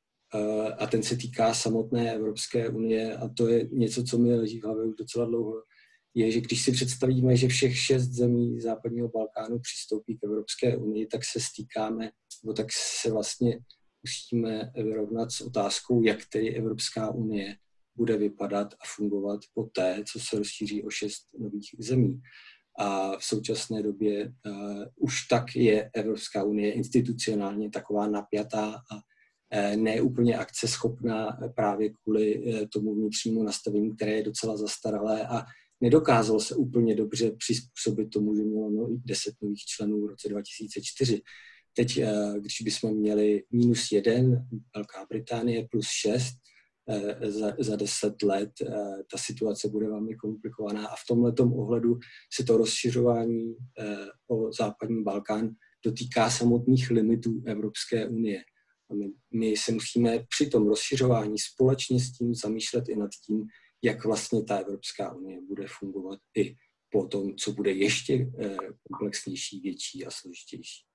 a ten se týká samotné Evropské unie, a to je něco, co mi leží v hlavě už docela dlouho, je, že když si představíme, že všech šest zemí západního Balkánu přistoupí k Evropské unii, tak se stýkáme, nebo tak se vlastně musíme vyrovnat s otázkou, jak tedy Evropská unie bude vypadat a fungovat poté, co se rozšíří o šest nových zemí. A v současné době uh, už tak je Evropská unie institucionálně taková napjatá a uh, ne úplně akceschopná právě kvůli uh, tomu vnitřnímu nastavení, které je docela zastaralé a nedokázal se úplně dobře přizpůsobit tomu, že mělo no, deset nových členů v roce dva tisíce čtyři. Teď, uh, když bychom měli minus jeden, Velká Británie plus šest, Za, za deset let ta situace bude velmi komplikovaná a v tomhletom ohledu se to rozšiřování o západní Balkán dotýká samotných limitů Evropské unie. A my, my se musíme při tom rozšiřování společně s tím zamýšlet i nad tím, jak vlastně ta Evropská unie bude fungovat i po tom, co bude ještě komplexnější, větší a složitější.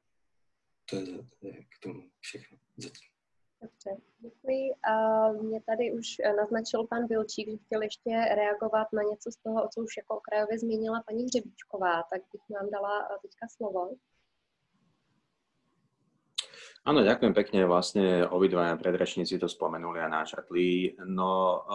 To je, to je k tomu všechno zatím. Dobře, děkuji. A mě tady už naznačil pan Vilčík, že chtěl ještě reagovat na něco z toho, co už jako okrajově zmínila paní Hřebíčková, tak bych vám dala teďka slovo. Áno, ďakujem pekne. Vlastne obidvaja predrečníci to spomenuli a načrtli. No,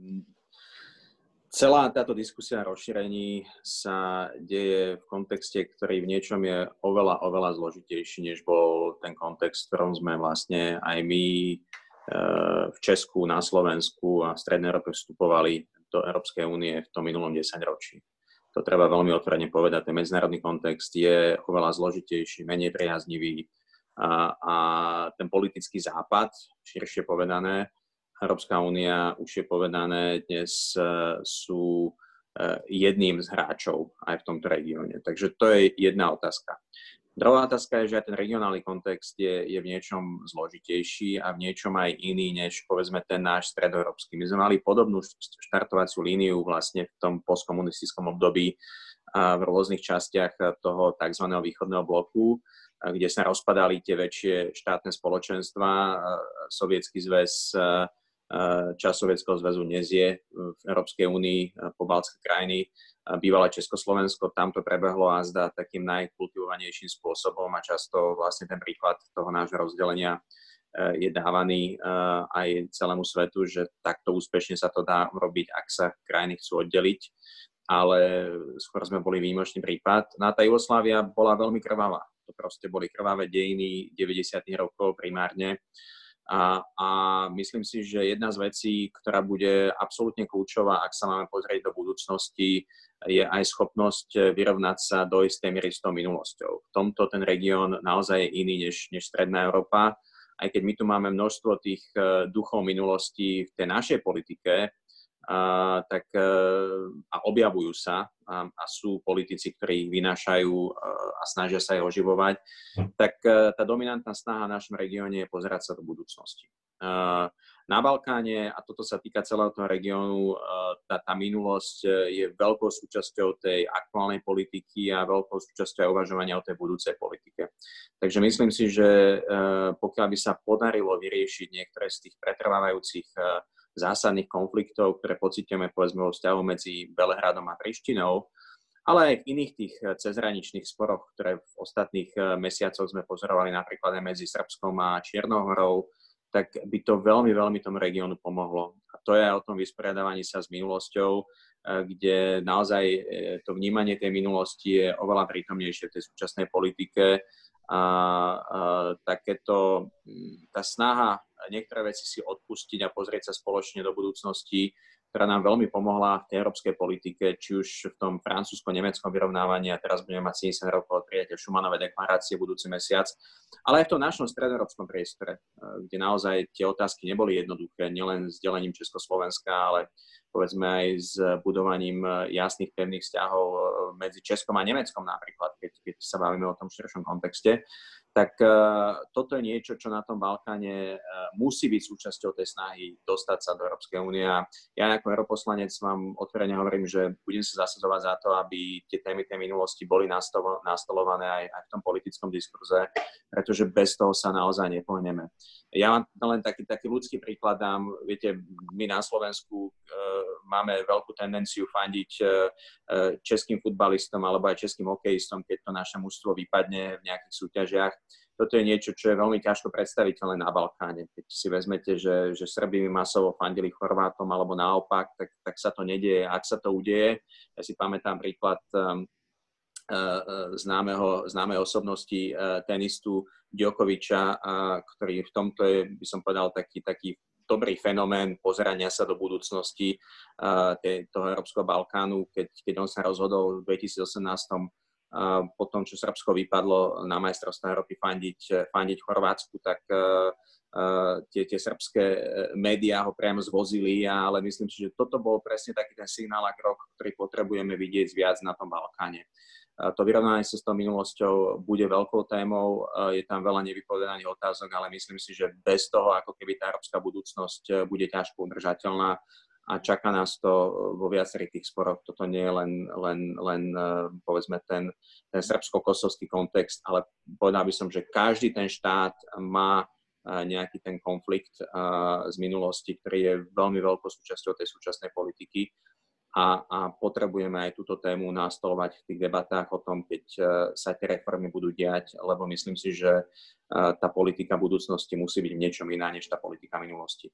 celá táto diskusia o rozšírení sa deje v kontexte, ktorý v niečom je oveľa, oveľa zložitejší, než bol ten kontext, v ktorom sme vlastne aj my v Česku, na Slovensku a v Strednej Európe vstupovali do Európskej únie v tom minulom desaťročí. To treba veľmi otvorene povedať. Ten medzinárodný kontext je oveľa zložitejší, menej priaznivý a, a ten politický západ, širšie povedané, Európska únia, už je povedané, dnes sú jedným z hráčov aj v tomto regióne. Takže to je jedna otázka. Druhá otázka je, že aj ten regionálny kontext je, je v niečom zložitejší a v niečom aj iný, než povedzme ten náš stredoeurópsky. My sme mali podobnú štartovaciu líniu vlastne v tom postkomunistickom období v rôznych častiach toho tzv. Východného bloku, kde sa rozpadali tie väčšie štátne spoločenstva. Sovietsky zväz, časť Sovietskeho zväzu dnes je v Európskej únii, pobaltské krajiny, bývalé Československo, tam to prebehlo a zdá takým najkultivovanejším spôsobom a často vlastne ten príklad toho nášho rozdelenia je dávaný aj celému svetu, že takto úspešne sa to dá robiť, ak sa krajiny chcú oddeliť, ale skôr sme boli výnimočný prípad. No a tá Jugoslávia bola veľmi krvavá. to proste boli krvavé dejiny deväťdesiatych rokov primárne. A, a myslím si, že jedna z vecí, ktorá bude absolútne kľúčová, ak sa máme pozrieť do budúcnosti, je aj schopnosť vyrovnať sa do istej miery s tou minulosťou. V tomto ten región naozaj je iný než, než Stredná Európa. Aj keď my tu máme množstvo tých duchov minulosti v tej našej politike, a, tak, a objavujú sa a, a sú politici, ktorí ich vynášajú a snažia sa ich oživovať, tak tá dominantná snaha v našom regióne je pozerať sa do budúcnosti. Na Balkáne, a toto sa týka celého toho regiónu, tá, tá minulosť je veľkou súčasťou tej aktuálnej politiky a veľkou súčasťou aj uvažovania o tej budúcej politike. Takže myslím si, že pokiaľ by sa podarilo vyriešiť niektoré z tých pretrvávajúcich zásadných konfliktov, ktoré pociťujeme povedzme vo vzťahu medzi Belehradom a Prištinou, ale aj v iných tých cezhraničných sporoch, ktoré v ostatných mesiacoch sme pozorovali napríklad aj medzi Srbskom a Čiernou Horou, tak by to veľmi, veľmi tomu regiónu pomohlo. A to je aj o tom vysporiadávaní sa s minulosťou, kde naozaj to vnímanie tej minulosti je oveľa prítomnejšie v tej súčasnej politike. A, a takéto, tá snaha niektoré veci si odpustiť a pozrieť sa spoločne do budúcnosti, ktorá nám veľmi pomohla v tej európskej politike, či už v tom francúzsko-nemeckom vyrovnávaní, a teraz budeme mať sedemdesiat rokov od prijatia Schumanovej deklarácie budúci mesiac, ale aj v tom našom stredoeurópskom priestore, kde naozaj tie otázky neboli jednoduché, nielen s delením Československa, ale povedzme aj s budovaním jasných pevných vzťahov medzi Českom a Nemeckom napríklad, keď, keď sa bavíme o tom širšom kontexte. Tak uh, toto je niečo, čo na tom Balkáne uh, musí byť súčasťou tej snahy dostať sa do Európskej únie. Ja ako europoslanec vám otvorene hovorím, že budem sa zasadzovať za to, aby tie témy tej minulosti boli nastolo, nastolované aj, aj v tom politickom diskurze, pretože bez toho sa naozaj nepohneme. Ja vám len taký, taký ľudský príklad dám. Viete, my na Slovensku uh, máme veľkú tendenciu fandiť uh, českým futbalistom alebo aj českým hokejistom, keď to naše mužstvo vypadne v nejakých súťažiach. Toto je niečo, čo je veľmi ťažko predstaviteľné na Balkáne. Keď si vezmete, že, že Srbi masovo fandili Chorvátom alebo naopak, tak, tak sa to nedieje. Ak sa to udeje, ja si pamätám príklad um, uh, známeho, známej osobnosti uh, tenistu Djokoviča, uh, ktorý v tomto je, by som povedal, taký, taký dobrý fenomén pozerania sa do budúcnosti uh, tej, toho Európskeho Balkánu, keď, keď on sa rozhodol v dvetisícosemnásť Uh, po tom, čo Srbsko vypadlo na majstrovstvá Európy fandiť, fandiť Chorvátsku, tak uh, uh, tie, tie srbské médiá ho priamo zvozili, ale myslím si, že toto bol presne taký ten signál a krok, ktorý potrebujeme vidieť viac na tom Balkáne. Uh, to vyrovnanie sa s tou minulosťou bude veľkou témou, uh, je tam veľa nevypovedaných otázok, ale myslím si, že bez toho, ako keby tá európska budúcnosť bude ťažko udržateľná, a čaká nás to vo viacerých tých sporoch. Toto nie je len, len, len povedzme ten, ten srbsko-kosovský kontext, ale povedal by som, že každý ten štát má nejaký ten konflikt z minulosti, ktorý je veľmi veľkou súčasťou tej súčasnej politiky a, a potrebujeme aj túto tému nastolovať v tých debatách o tom, keď sa tie reformy budú diať, lebo myslím si, že tá politika budúcnosti musí byť v niečom iná než tá politika minulosti.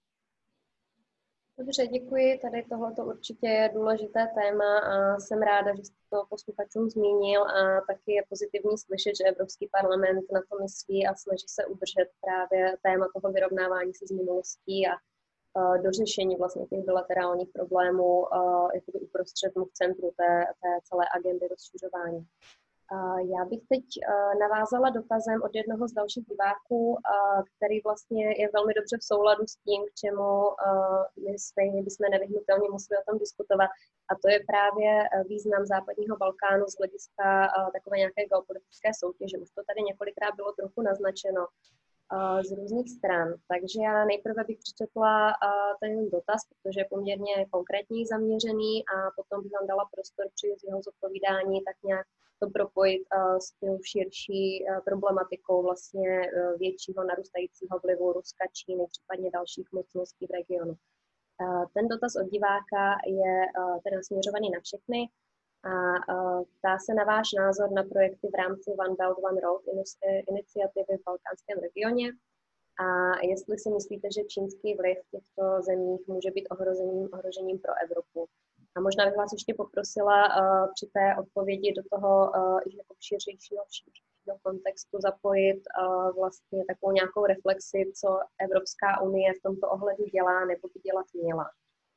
Dobře, děkuji. Tady tohleto určitě je důležité téma a jsem ráda, že jste to posluchačům zmínil a taky je pozitivní slyšet, že Evropský parlament na to myslí a snaží se udržet právě téma toho vyrovnávání se z minulostí a uh, dořešení vlastně těch bilaterálních problémů uh, jakoby uprostřed v centru té, té celé agendy rozšiřování. Já bych teď navázala dotazem od jednoho z dalších diváků, který vlastně je velmi dobře v souladu s tím, k čemu my stejně bychom nevyhnutelně museli o tom diskutovat. A to je právě význam západního Balkánu z hlediska takové nějaké geopolitické soutěže. Už to tady několikrát bylo trochu naznačeno z různých stran. Takže já nejprve bych přečetla ten dotaz, protože je poměrně konkrétní, zaměřený a potom bych vám dala prostor při jeho zodpovídání tak nějak to propojit uh, s tou širší uh, problematikou vlastně uh, většího narůstajícího vlivu Ruska, Číny, případně dalších mocností v regionu. Uh, ten dotaz od diváka je uh, teda směřovaný na všechny a uh, ptá se na váš názor na projekty v rámci One Belt, One Road iniciativy v balkánském regioně a jestli si myslíte, že čínský vliv v těchto zemích může být ohrožením, ohrožením pro Evropu. A možná bych vás ještě poprosila uh, při té odpovědi do toho uh, jako širšího, širšího kontextu zapojit uh, vlastně takovou nějakou reflexi, co Evropská unie v tomto ohledu dělá nebo by dělat měla.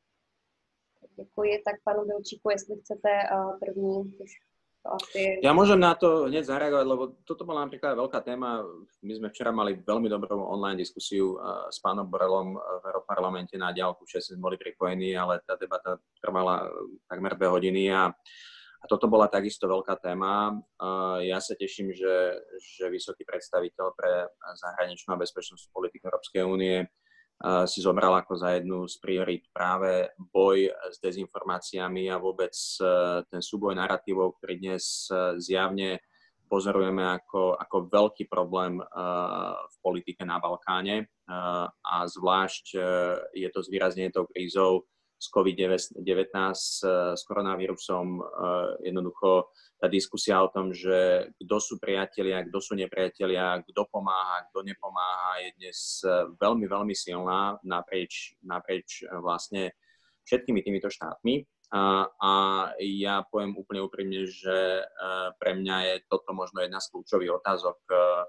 Děkuji. Tak panu Bilčíku, jestli chcete uh, první, už to asi... Ja môžem na to hneď zareagovať, lebo toto bola napríklad veľká téma. My sme včera mali veľmi dobrú online diskusiu uh, s pánom Borelom v Europarlamente na diaľku, všetci sme boli pripojení, ale tá debata trvala takmer dve hodiny a, a toto bola takisto veľká téma. Uh, ja sa teším, že, že vysoký predstaviteľ pre zahraničnú a bezpečnostnú politiku Európskej únie si zobral ako za jednu z priorít práve boj s dezinformáciami a vôbec ten súboj naratívov, ktorý dnes zjavne pozorujeme ako, ako veľký problém v politike na Balkáne. A zvlášť je to zvýraznené tou krízou s COVID devätnásť, s koronavírusom. Jednoducho tá diskusia o tom, že kto sú priatelia, kto sú nepriatelia, kto pomáha, kto nepomáha, je dnes veľmi, veľmi silná naprieč, naprieč vlastne všetkými týmito štátmi. A, a ja poviem úplne úprimne, že pre mňa je toto možno jedna z kľúčových otázok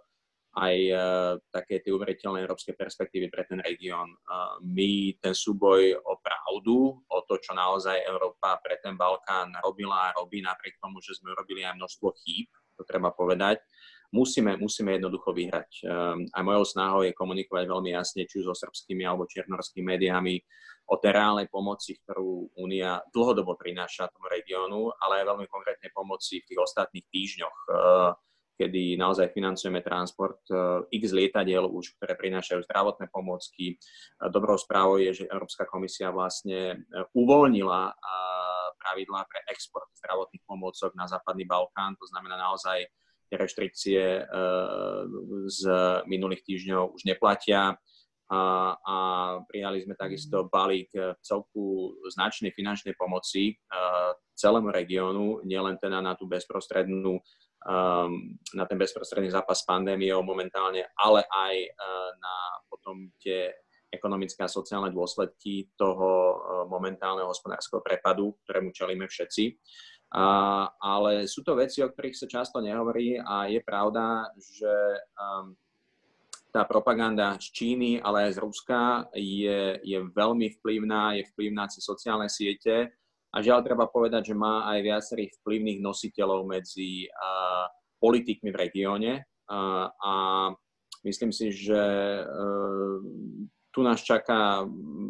aj také tie uveriteľné európske perspektívy pre ten región. My ten súboj o pravdu, o to, čo naozaj Európa pre ten Balkán robila a robí, napriek tomu, že sme urobili aj množstvo chýb, to treba povedať, musíme, musíme jednoducho vyhrať. A mojou snahou je komunikovať veľmi jasne, či už so srbskými alebo čiernorskými médiami, o tej reálnej pomoci, ktorú Únia dlhodobo prináša tomu regiónu, ale aj veľmi konkrétnej pomoci v tých ostatných týždňoch, kedy naozaj financujeme transport x lietadiel už, ktoré prinášajú zdravotné pomôcky. Dobrou správou je, že Európska komisia vlastne uvoľnila pravidlá pre export zdravotných pomôcok na západný Balkán. To znamená naozaj, tie reštrikcie z minulých týždňov už neplatia. A, a prijali sme takisto balík celku značnej finančnej pomoci celému regiónu, nielen teda na tú bezprostrednú Um, na ten bezprostredný zápas s pandémiou momentálne, ale aj uh, na potom tie ekonomické a sociálne dôsledky toho uh, momentálneho hospodárskeho prepadu, ktorému čelíme všetci. Uh, ale sú to veci, o ktorých sa často nehovorí a je pravda, že um, tá propaganda z Číny, ale aj z Ruska je, je veľmi vplyvná, je vplyvná cez sociálne siete. A žiaľ, treba povedať, že má aj viacerých vplyvných nositeľov medzi uh, politikmi v regióne uh, a myslím si, že uh, tu nás čaká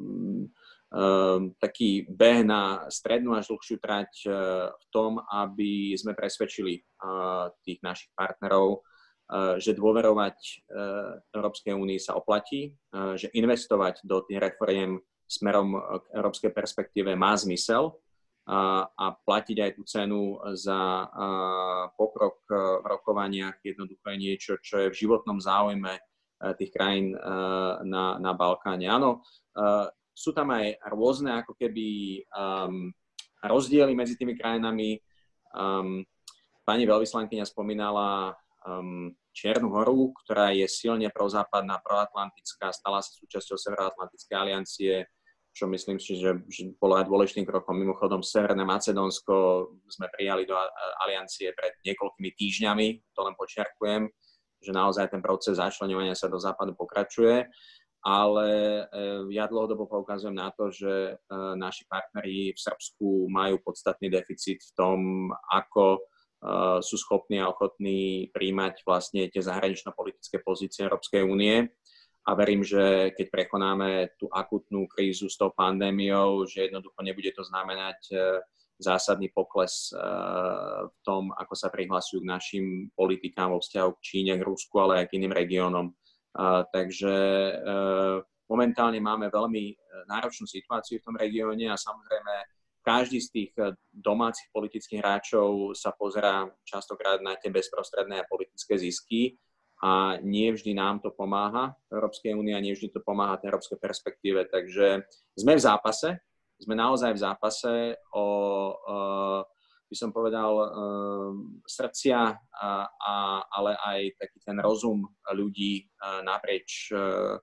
uh, taký beh na strednú až dlhšiu trať uh, v tom, aby sme presvedčili uh, tých našich partnerov, uh, že dôverovať uh, Európskej únii sa oplatí, uh, že investovať do tých reforiem smerom k európskej perspektíve má zmysel, a platiť aj tú cenu za pokrok v rokovaniach jednoducho je niečo, čo je v životnom záujme tých krajín na, na Balkáne. Áno, sú tam aj rôzne ako keby um, rozdiely medzi tými krajinami. Um, pani veľvyslankyňa spomínala um, Čiernu Horu, ktorá je silne prozápadná, proatlantická, stala sa súčasťou Severoatlantickej aliancie, čo myslím si, že, že bolo aj dôležitým krokom. Mimochodom, Severné Macedónsko sme prijali do aliancie pred niekoľkými týždňami, to len počiarkujem, že naozaj ten proces začleňovania sa do západu pokračuje, ale ja dlhodobo poukazujem na to, že naši partneri v Srbsku majú podstatný deficit v tom, ako sú schopní a ochotní príjmať vlastne tie zahranično-politické pozície Európskej únie. A verím, že keď prekonáme tú akutnú krízu s tou pandémiou, že jednoducho nebude to znamenať zásadný pokles v tom, ako sa prihlasujú k našim politikám vo vzťahu k Číne, k Rusku, ale aj k iným regiónom. Takže momentálne máme veľmi náročnú situáciu v tom regióne a samozrejme každý z tých domácich politických hráčov sa pozerá častokrát na tie bezprostredné politické zisky. A nie vždy nám to pomáha Európskej únie a nie vždy to pomáha tej európskej perspektíve. Takže sme v zápase, sme naozaj v zápase o, o by som povedal, srdcia, a, a, ale aj taký ten rozum ľudí naprieč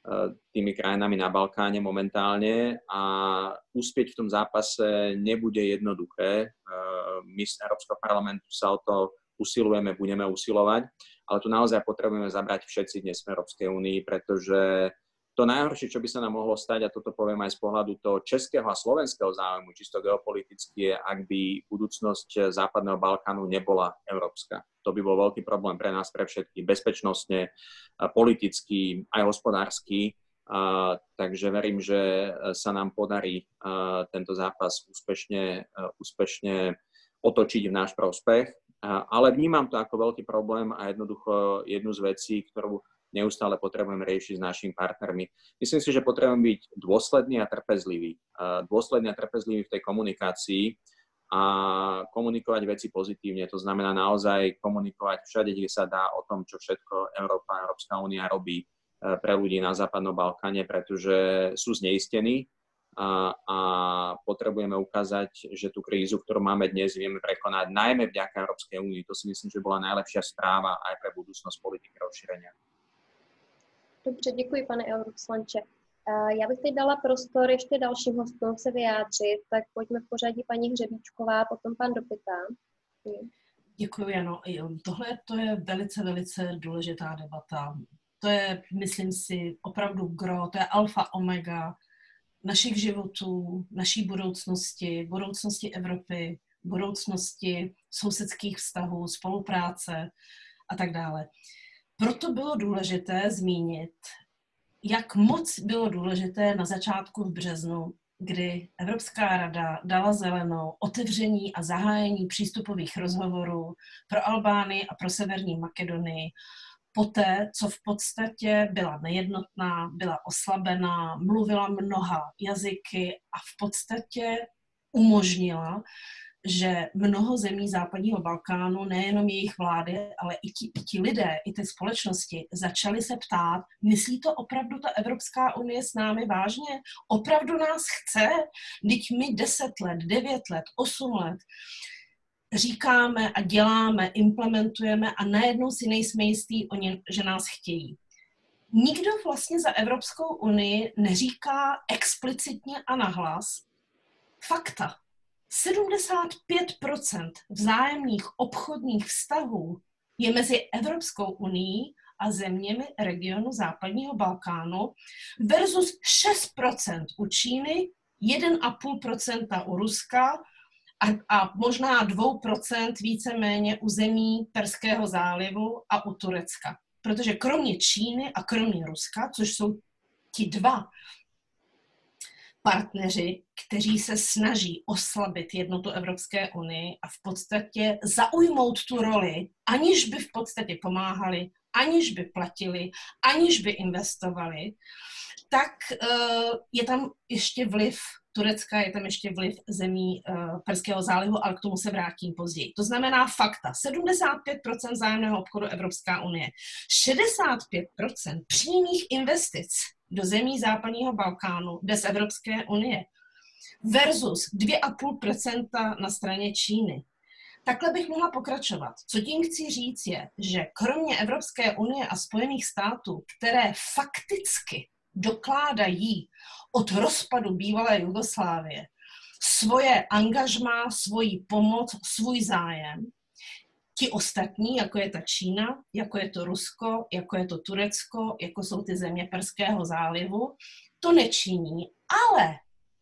tými krajinami na Balkáne momentálne a uspieť v tom zápase nebude jednoduché. My z Európskeho parlamentu sa o to usilujeme, budeme usilovať, ale tu naozaj potrebujeme zabrať všetci dnes v Európskej únii, pretože to najhoršie, čo by sa nám mohlo stať, a toto poviem aj z pohľadu toho českého a slovenského záujmu, čisto geopoliticky, je, ak by budúcnosť Západného Balkánu nebola európska. To by bol veľký problém pre nás, pre všetkých, bezpečnostne, politicky, aj hospodársky. Uh, takže verím, že sa nám podarí uh, tento zápas úspešne, uh, úspešne otočiť v náš prospech. Uh, ale vnímam to ako veľký problém a jednoducho jednu z vecí, ktorú neustále potrebujeme riešiť s našimi partnermi. Myslím si, že potrebujeme byť dôslední a trpezliví. Uh, dôslední a trpezliví v tej komunikácii a komunikovať veci pozitívne. To znamená naozaj komunikovať všade, kde sa dá o tom, čo všetko Európa, Európska únia robí pre ľudí na Západnom Balkáne, pretože sú zneistení a, a potrebujeme ukázať, že tú krízu, ktorú máme dnes, vieme prekonať najmä vďaka Európskej únii. To si myslím, že bola najlepšia správa aj pre budúcnosť politiky rozšírenia. Dobře, děkuji, pane europoslanče. Já bych teď dala prostor ještě dalším hostům se vyjádřit, tak pojďme v pořadí paní Hřebíčková, potom pan Dopita. Děkuji, Jano. Tohle to je velice, velice důležitá debata. To je, myslím si, opravdu gro, to je alfa omega našich životů, naší budoucnosti, budoucnosti Evropy, budoucnosti sousedských vztahů, spolupráce a tak dále. Proto bylo důležité zmínit, jak moc bylo důležité na začátku v březnu, kdy Evropská rada dala zelenou otevření a zahájení přístupových rozhovorů pro Albánii a pro Severní Makedonii, poté, co v podstatě byla nejednotná, byla oslabená, mluvila mnoha jazyky a v podstatě umožnila, že mnoho zemí západního Balkánu, nejenom jejich vlády, ale i ti, i ti lidé, i ty společnosti začaly se ptát, myslí to opravdu ta Evropská unie s námi vážně? Opravdu nás chce? Vždyť my deset let, devět let, osm let říkáme a děláme, implementujeme a najednou si nejsme jistí, oni, že nás chtějí. Nikdo vlastně za Evropskou unii neříká explicitně a nahlas fakta. sedmdesát pět procent vzájemných obchodních vztahů je mezi Evropskou unií a zeměmi regionu západního Balkánu versus šest procent u Číny, jedna celá pět procenta u Ruska a, a možná dva procenta víceméně u zemí Perského zálivu a u Turecka. Protože kromě Číny a kromě Ruska, což jsou ti dva partneři, kteří se snaží oslabit jednotu Evropské unie a v podstatě zaujmout tu roli, aniž by v podstatě pomáhali, aniž by platili, aniž by investovali, tak uh, je tam ještě vliv Turecka, je tam ještě vliv zemí uh, Perského zálivu, ale k tomu se vrátím později. To znamená fakta. sedmdesát pět procent vzájemného obchodu Evropská unie, šedesát pět procent přímých investic do zemí západního Balkánu bez Evropské unie versus dva celá pět procenta na straně Číny. Takhle bych mohla pokračovat. Co tím chci říct je, že kromě Evropské unie a Spojených států, které fakticky dokládají od rozpadu bývalé Jugoslávie svoje angažmá, svoji pomoc, svůj zájem, ti ostatní, jako je ta Čína, jako je to Rusko, jako je to Turecko, jako jsou ty země Perského zálivu, to nečiní, ale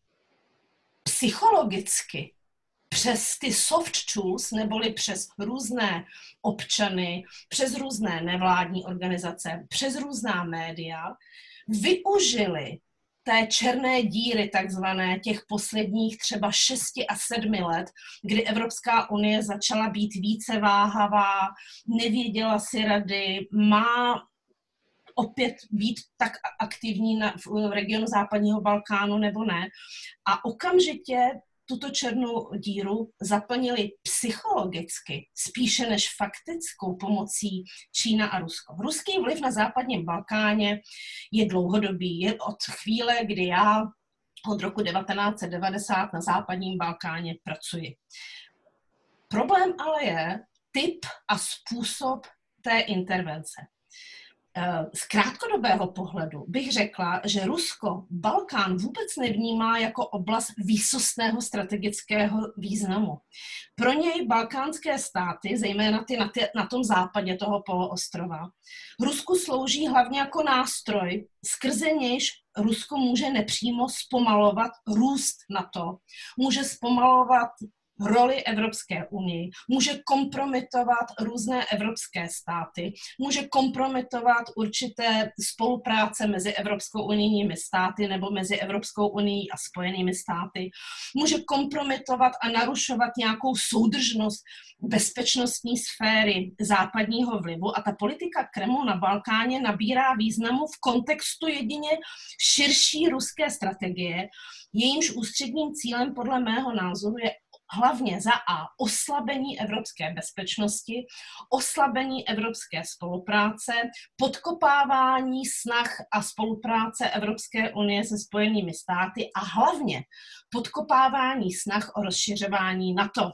psychologicky přes ty soft tools, neboli přes různé občany, přes různé nevládní organizace, přes různá média, využili té černé díry takzvané těch posledních třeba šesti a sedmi let, kdy Evropská unie začala být více váhavá, nevěděla si rady, má opět být tak aktivní na, v regionu západního Balkánu nebo ne. A okamžitě tuto černou díru zaplnili psychologicky, spíše než faktickou pomocí Čína a Rusko. Ruský vliv na západním Balkáně je dlouhodobý. Je od chvíle, kdy já od roku devatenáct set devadesát na západním Balkáně pracuji. Problém ale je typ a způsob té intervence. Z krátkodobého pohledu bych řekla, že Rusko Balkán vůbec nevnímá jako oblast výsostného strategického významu. Pro něj balkánské státy, zejména ty na, ty na tom západě toho poloostrova, Rusku slouží hlavně jako nástroj, skrze nějž Rusko může nepřímo zpomalovat růst NATO, může zpomalovat roli Evropské unie, může kompromitovat různé evropské státy, může kompromitovat určité spolupráce mezi Evropskou unijními státy nebo mezi Evropskou unií a Spojenými státy, může kompromitovat a narušovat nějakou soudržnost bezpečnostní sféry západního vlivu a ta politika Kremlu na Balkáně nabírá významu v kontextu jedině širší ruské strategie, jejímž ústředním cílem podle mého názoru je hlavně za a oslabení evropské bezpečnosti, oslabení evropské spolupráce, podkopávání snah a spolupráce Evropské unie se Spojenými státy a hlavně podkopávání snah o rozšiřování NATO.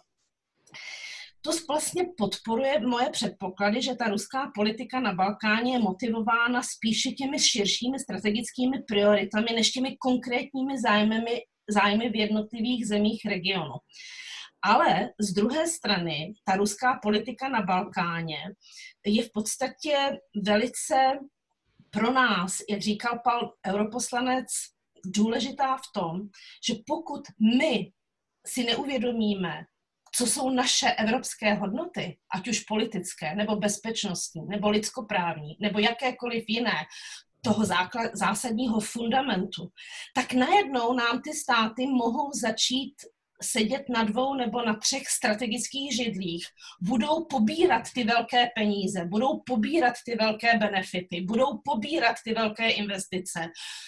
To vlastně podporuje moje předpoklady, že ta ruská politika na Balkáně je motivována spíše těmi širšími strategickými prioritami, než těmi konkrétními zájmy, zájmy v jednotlivých zemích regionu. Ale z druhé strany, ta ruská politika na Balkáně je v podstatě velice pro nás, jak říkal pan europoslanec, důležitá v tom, že pokud my si neuvědomíme, co jsou naše evropské hodnoty, ať už politické, nebo bezpečnostní, nebo lidskoprávní, nebo jakékoliv jiné, toho základ, zásadního fundamentu, tak najednou nám ty státy mohou začít sedět na dvou nebo na třech strategických židlích, budou pobírat ty velké peníze, budou pobírat ty velké benefity, budou pobírat ty velké investice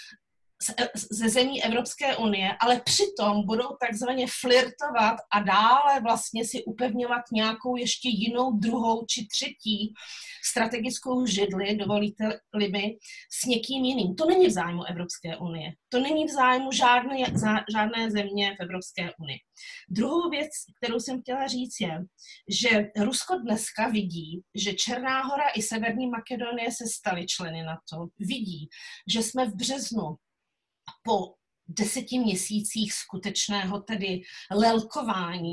ze zemí Evropské unie, ale přitom budou takzvaně flirtovat a dále vlastně si upevňovat nějakou ještě jinou, druhou či třetí strategickou židli, dovolíte-li mi, s někým jiným. To není v zájmu Evropské unie. To není v zájmu žádné, žádné země v Evropské unii. Druhou věc, kterou jsem chtěla říct, je, že Rusko dneska vidí, že Černá Hora i Severní Makedonie se staly členy NATO. Vidí, že jsme v březnu po deseti měsících skutečného tedy lelkování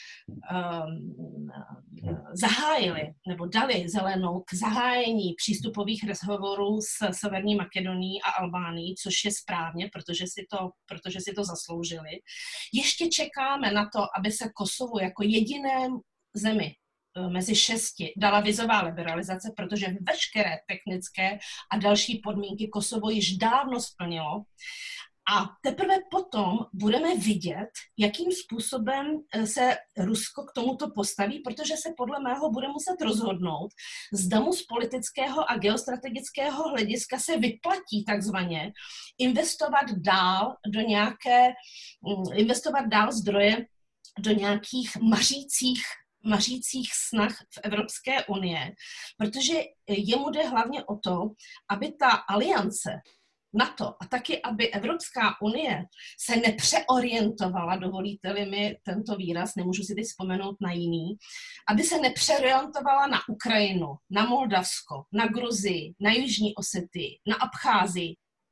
um, zahájili nebo dali zelenou k zahájení přístupových rozhovorů s Severní Makedonií a Albánií, což je správně, protože si to, protože si to zasloužili. Ještě čekáme na to, aby se Kosovu jako jediné zemi mezi šesti dala vizová liberalizace, protože veškeré technické a další podmínky Kosovo již dávno splnilo. A teprve potom budeme vidět, jakým způsobem se Rusko k tomuto postaví, protože se podle mého bude muset rozhodnout, zda mu z politického a geostrategického hlediska se vyplatí takzvaně investovat dál do nějaké, investovat dál zdroje do nějakých mařících mařících snah v Evropské unie, protože jemu jde hlavně o to, aby ta aliance NATO a taky, aby Evropská unie se nepřeorientovala, dovolíte-li mi tento výraz, nemůžu si teď vzpomenout na jiný, aby se nepřeorientovala na Ukrajinu, na Moldavsko, na Gruzii, na Jižní Osetii, na Abcházii,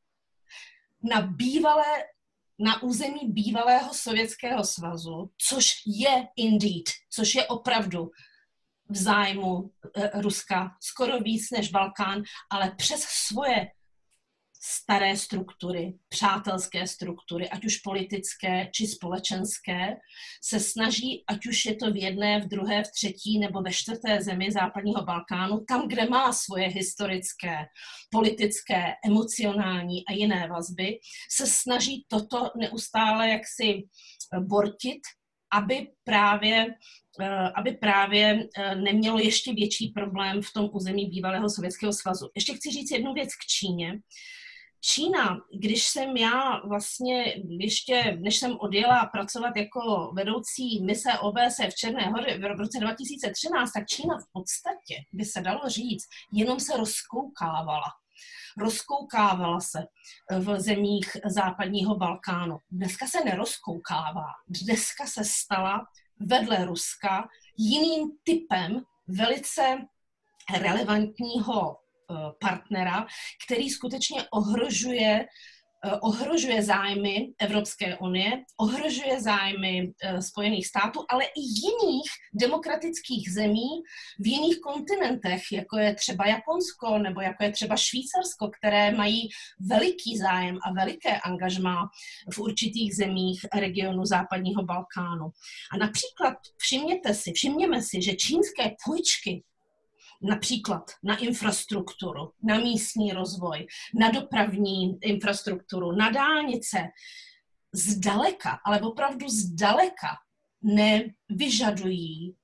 na bývalé na území bývalého Sovětského svazu, což je indeed, což je opravdu v zájmu Ruska skoro víc než Balkán, ale přes svoje staré struktury, přátelské struktury, ať už politické či společenské, se snaží, ať už je to v jedné, v druhé, v třetí nebo ve čtvrté zemi západního Balkánu, tam, kde má svoje historické, politické, emocionální a jiné vazby, se snaží toto neustále jaksi bortit, aby právě aby právě nemělo ještě větší problém v tom území bývalého Sovětského svazu. Ještě chci říct jednu věc k Číně. Čína, když jsem já vlastně ještě, než jsem odjela pracovat jako vedoucí mise O B S E v Černé Hoře v roce dva tisíce třináct, tak Čína v podstatě, by se dalo říct, jenom se rozkoukávala. Rozkoukávala se v zemích západního Balkánu. Dneska se nerozkoukává. Dneska se stala vedle Ruska jiným typem velice relevantního partnera, který skutečně ohrožuje ohrožuje zájmy Evropské unie, ohrožuje zájmy Spojených států, ale i jiných demokratických zemí v jiných kontinentech, jako je třeba Japonsko nebo jako je třeba Švýcarsko, které mají veliký zájem a veliké angažmá v určitých zemích regionu západního Balkánu. A například všimněte si, všimněme si, že čínské půjčky například na infrastrukturu, na místní rozvoj, na dopravní infrastrukturu, na dálnice, zdaleka, ale opravdu zdaleka nevyžadují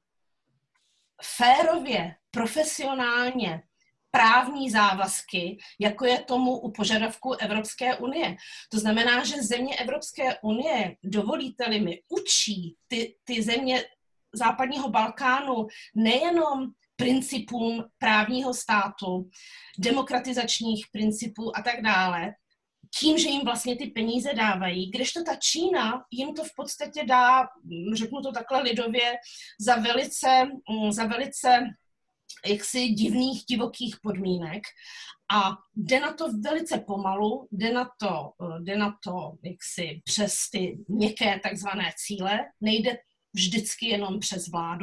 férově, profesionálně právní závazky, jako je tomu u požadavků Evropské unie. To znamená, že země Evropské unie, dovolíte-li mi, učí ty, ty země západního Balkánu nejenom principům právního státu, demokratizačních principů a tak dále, tím, že jim vlastně ty peníze dávají, kdežto ta Čína jim to v podstatě dá, řeknu to takhle lidově, za velice, za velice jaksi divných, divokých podmínek a jde na to velice pomalu, jde na to, jde na to jaksi přes ty měkké takzvané cíle, nejde vždycky jenom přes vládu.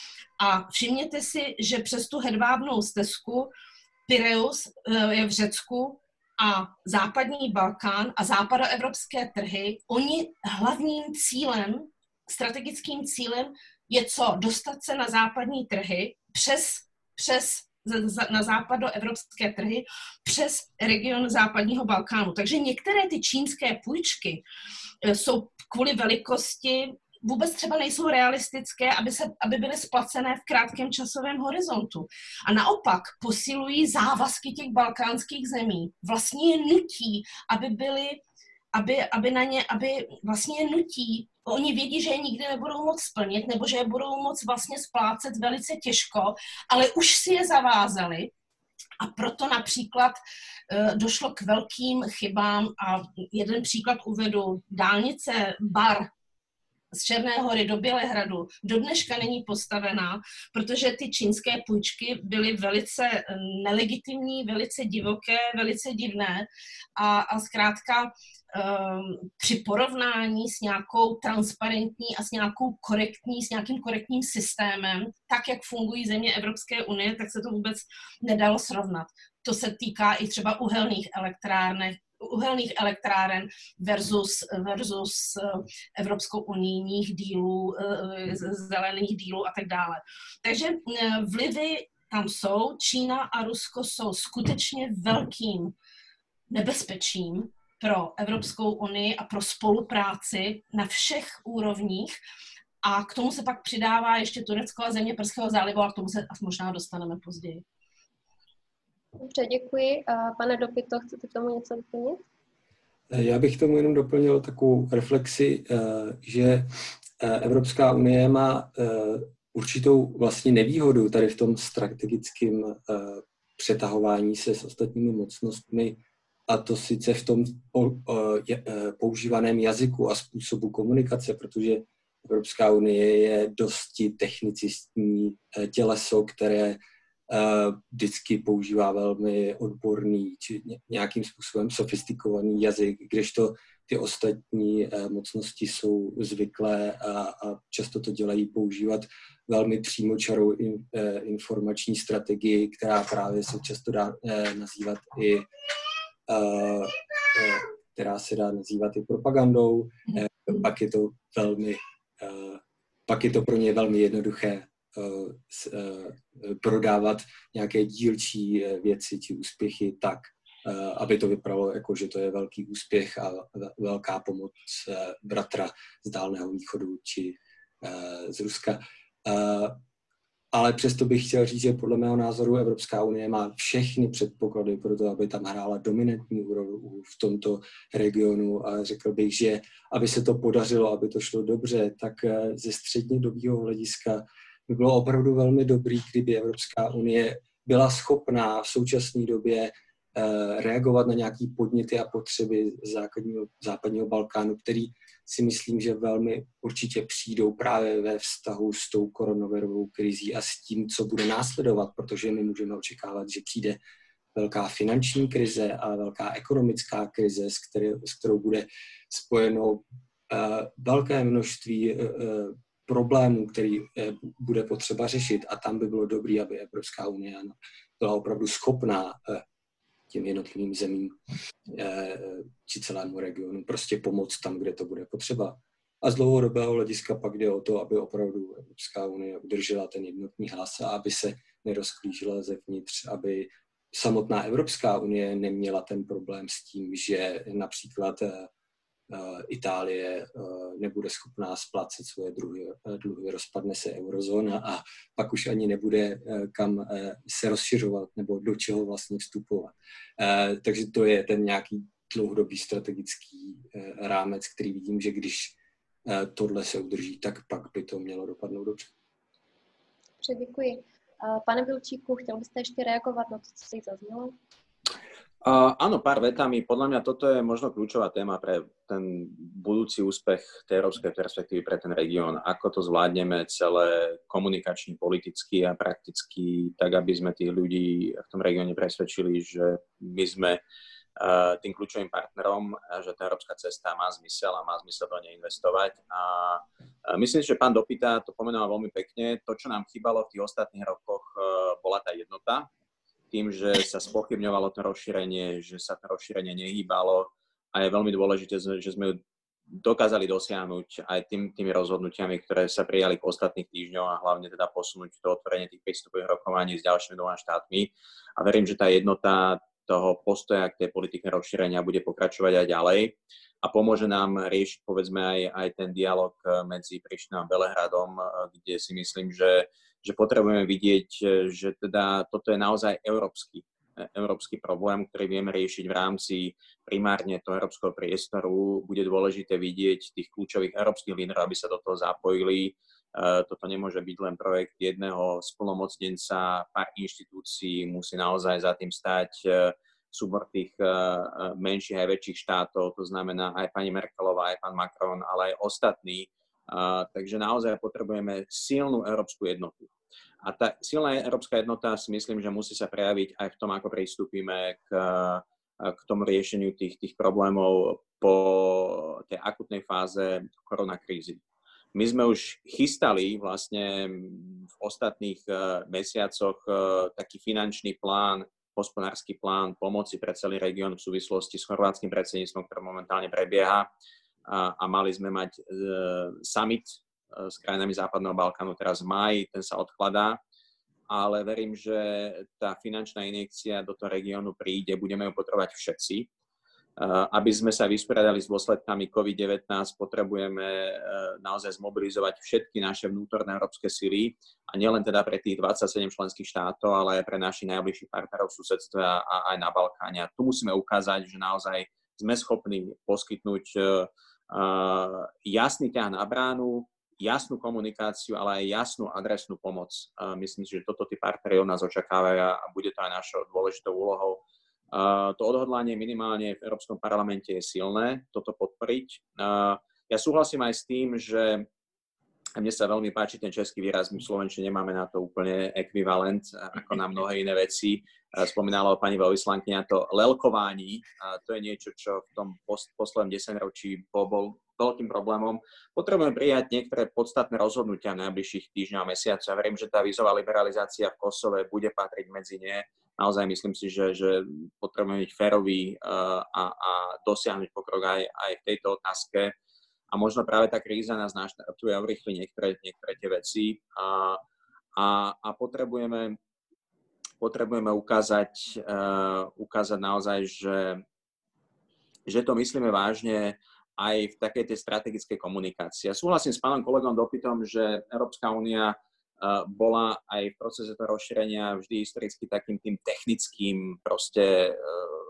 A všimněte si, že přes tu hedvábnou stezku Pireus je v Řecku a západní Balkán a západoevropské trhy, oni hlavním cílem, strategickým cílem je co? Dostat se na západní trhy přes, přes na západoevropské trhy přes region západního Balkánu. Takže některé ty čínské půjčky jsou kvůli velikosti vůbec třeba nejsou realistické, aby, se, aby byly splacené v krátkém časovém horizontu. A naopak posilují závazky těch balkánských zemí. Vlastně je nutí, aby byly, aby, aby na ně, aby vlastně je nutí, oni vědí, že je nikdy nebudou moc splnit, nebo že je budou moc vlastně splácet velice těžko, ale už si je zavázali. A proto například e, došlo k velkým chybám a jeden příklad uvedu. Dálnice Bar z Černé Hory do Bělehradu do dneška není postavená, protože ty čínské půjčky byly velice nelegitimní, velice divoké, velice divné a, a zkrátka um, při porovnání s nějakou transparentní a s nějakou korektní, s nějakým korektním systémem, tak, jak fungují země Evropské unie, tak se to vůbec nedalo srovnat. To se týká i třeba uhelných elektráren, uhelných elektráren versus, versus Evropskou unijních dílů, zelených dílů a tak dále. Takže vlivy tam jsou. Čína a Rusko jsou skutečně velkým nebezpečím pro Evropskou unii a pro spolupráci na všech úrovních. A k tomu se pak přidává ještě Turecko a země Perského zálivu, a k tomu se možná dostaneme později. Dobře, děkuji. Pane Dopito, chcete k tomu něco doplnit? Já bych tomu jenom doplnil takovou reflexi, že Evropská unie má určitou vlastně nevýhodu tady v tom strategickém přetahování se s ostatními mocnostmi, a to sice v tom používaném jazyku a způsobu komunikace, protože Evropská unie je dosti technicistní těleso, které vždycky používá velmi odborný či nějakým způsobem sofistikovaný jazyk, kdežto ty ostatní mocnosti jsou zvyklé a, a často to dělají používat velmi přímočarou in, informační strategii, která právě se často dá nazývat i která se dá nazývat i propagandou. Pak je to velmi pak je to pro ně velmi jednoduché prodávat nějaké dílčí věci či úspěchy tak, aby to vypadalo jako, že to je velký úspěch a velká pomoc bratra z Dálného východu či z Ruska. Ale přesto bych chtěl říct, že podle mého názoru Evropská unie má všechny předpoklady pro to, aby tam hrála dominantní úlohu v tomto regionu a řekl bych, že aby se to podařilo, aby to šlo dobře, tak ze střednědobého hlediska by bylo opravdu velmi dobrý, kdyby Evropská unie byla schopná v současné době reagovat na nějaké podněty a potřeby západního, západního Balkánu, který si myslím, že velmi určitě přijdou právě ve vztahu s tou koronavirovou krizí a s tím, co bude následovat, protože my můžeme očekávat, že přijde velká finanční krize a velká ekonomická krize, s, který, s kterou bude spojeno velké množství problémů, který bude potřeba řešit, a tam by bylo dobré, aby Evropská unie byla opravdu schopná těm jednotlivým zemím či celému regionu prostě pomoct tam, kde to bude potřeba. A z dlouhodobého hlediska pak jde o to, aby opravdu Evropská unie udržela ten jednotný hlas a aby se nerozklížila zevnitř, aby samotná Evropská unie neměla ten problém s tím, že například Itálie nebude schopná splácet svoje dluhy, dluhy, rozpadne se eurozóna a pak už ani nebude kam se rozšiřovat nebo do čeho vlastně vstupovat. Takže to je ten nějaký dlouhodobý strategický rámec, který vidím, že když tohle se udrží, tak pak by to mělo dopadnout dobře. Dobře, děkuji. Pane Bilčíku, chtěl byste ještě reagovat na to, co si zaznělo? Uh, áno, pár vetami. Podľa mňa toto je možno kľúčová téma pre ten budúci úspech tej európskej perspektívy pre ten región. Ako to zvládneme celé komunikačne, politicky a prakticky, tak aby sme tých ľudí v tom regióne presvedčili, že my sme uh, tým kľúčovým partnerom, že tá európska cesta má zmysel a má zmysel do nej investovať. A uh, myslím, že pán Dopita to pomenoval veľmi pekne. To, čo nám chýbalo v tých ostatných rokoch, uh, bola tá jednota. Tým, že sa spochybňovalo to rozšírenie, že sa to rozšírenie nehýbalo a je veľmi dôležité, že sme ju dokázali dosiahnuť aj tým, tými rozhodnutiami, ktoré sa prijali v ostatných týždňoch a hlavne teda posunúť to otvorenie tých prístupových rokovaní s ďalšími dvoma štátmi. A verím, že tá jednota toho postoja k tej politike rozšírenia bude pokračovať aj ďalej a pomôže nám riešiť povedzme aj, aj ten dialog medzi Prištinou a Belehradom, kde si myslím, že že potrebujeme vidieť, že teda toto je naozaj európsky, európsky problém, ktorý vieme riešiť v rámci primárne toho európskeho priestoru. Bude dôležité vidieť tých kľúčových európskych lídrov, aby sa do toho zapojili. Toto nemôže byť len projekt jedného splnomocnenca, pár inštitúcií, musí naozaj za tým stať súbor tých menších aj väčších štátov, to znamená aj pani Merkelová, aj pán Macron, ale aj ostatní. Uh, takže naozaj potrebujeme silnú európsku jednotu. A tá silná európska jednota si myslím, že musí sa prejaviť aj v tom, ako pristúpime k, k tomu riešeniu tých, tých problémov po tej akutnej fáze koronakrízy. My sme už chystali vlastne v ostatných uh, mesiacoch uh, taký finančný plán, hospodársky plán pomoci pre celý región v súvislosti s chorvátskym predsedníctvom, ktoré momentálne prebieha. A, a mali sme mať e, summit e, s krajinami Západného Balkánu teraz v máji, ten sa odkladá, ale verím, že tá finančná injekcia do toho regiónu príde, budeme ju potrebovať všetci. E, aby sme sa vysporiadali s dôsledkami COVID devätnásť, potrebujeme e, naozaj zmobilizovať všetky naše vnútorné európske sily a nielen teda pre tých dvadsaťsedem členských štátov, ale aj pre našich najbližších partnerov v susedstve a, a aj na Balkáne. A tu musíme ukázať, že naozaj sme schopní poskytnúť uh, jasný ťah na bránu, jasnú komunikáciu, ale aj jasnú adresnú pomoc. Uh, myslím si, že toto tí partneri od nás očakávajú a bude to aj našou dôležitou úlohou. Uh, to odhodlanie minimálne v Európskom parlamente je silné, toto podporiť. Uh, ja súhlasím aj s tým, že mne sa veľmi páči ten český výraz, my v slovenčine nemáme na to úplne ekvivalent, ako na mnohé iné veci. Spomínala pani veľvyslankyňa to lelkování. A to je niečo, čo v tom poslednom desaťročí bol veľkým problémom. Potrebujeme prijať niektoré podstatné rozhodnutia v najbližších týždňoch a mesiacoch. Ja verím, že tá vízová liberalizácia v Kosove bude patriť medzi ne. Naozaj myslím si, že, že potrebujeme byť féroví a, a dosiahnuť pokrok aj, aj v tejto otázke. A možno práve tá kríza nás naštartuje a urýchli niektoré, niektoré tie veci. A, a, a potrebujeme, potrebujeme ukázať, uh, ukázať naozaj, že, že to myslíme vážne aj v takej tej strategickej komunikácii. Ja súhlasím s pánom kolegom Dopitom, že Európska únia uh, bola aj v procese toho rozšírenia vždy historicky takým tým technickým proste uh,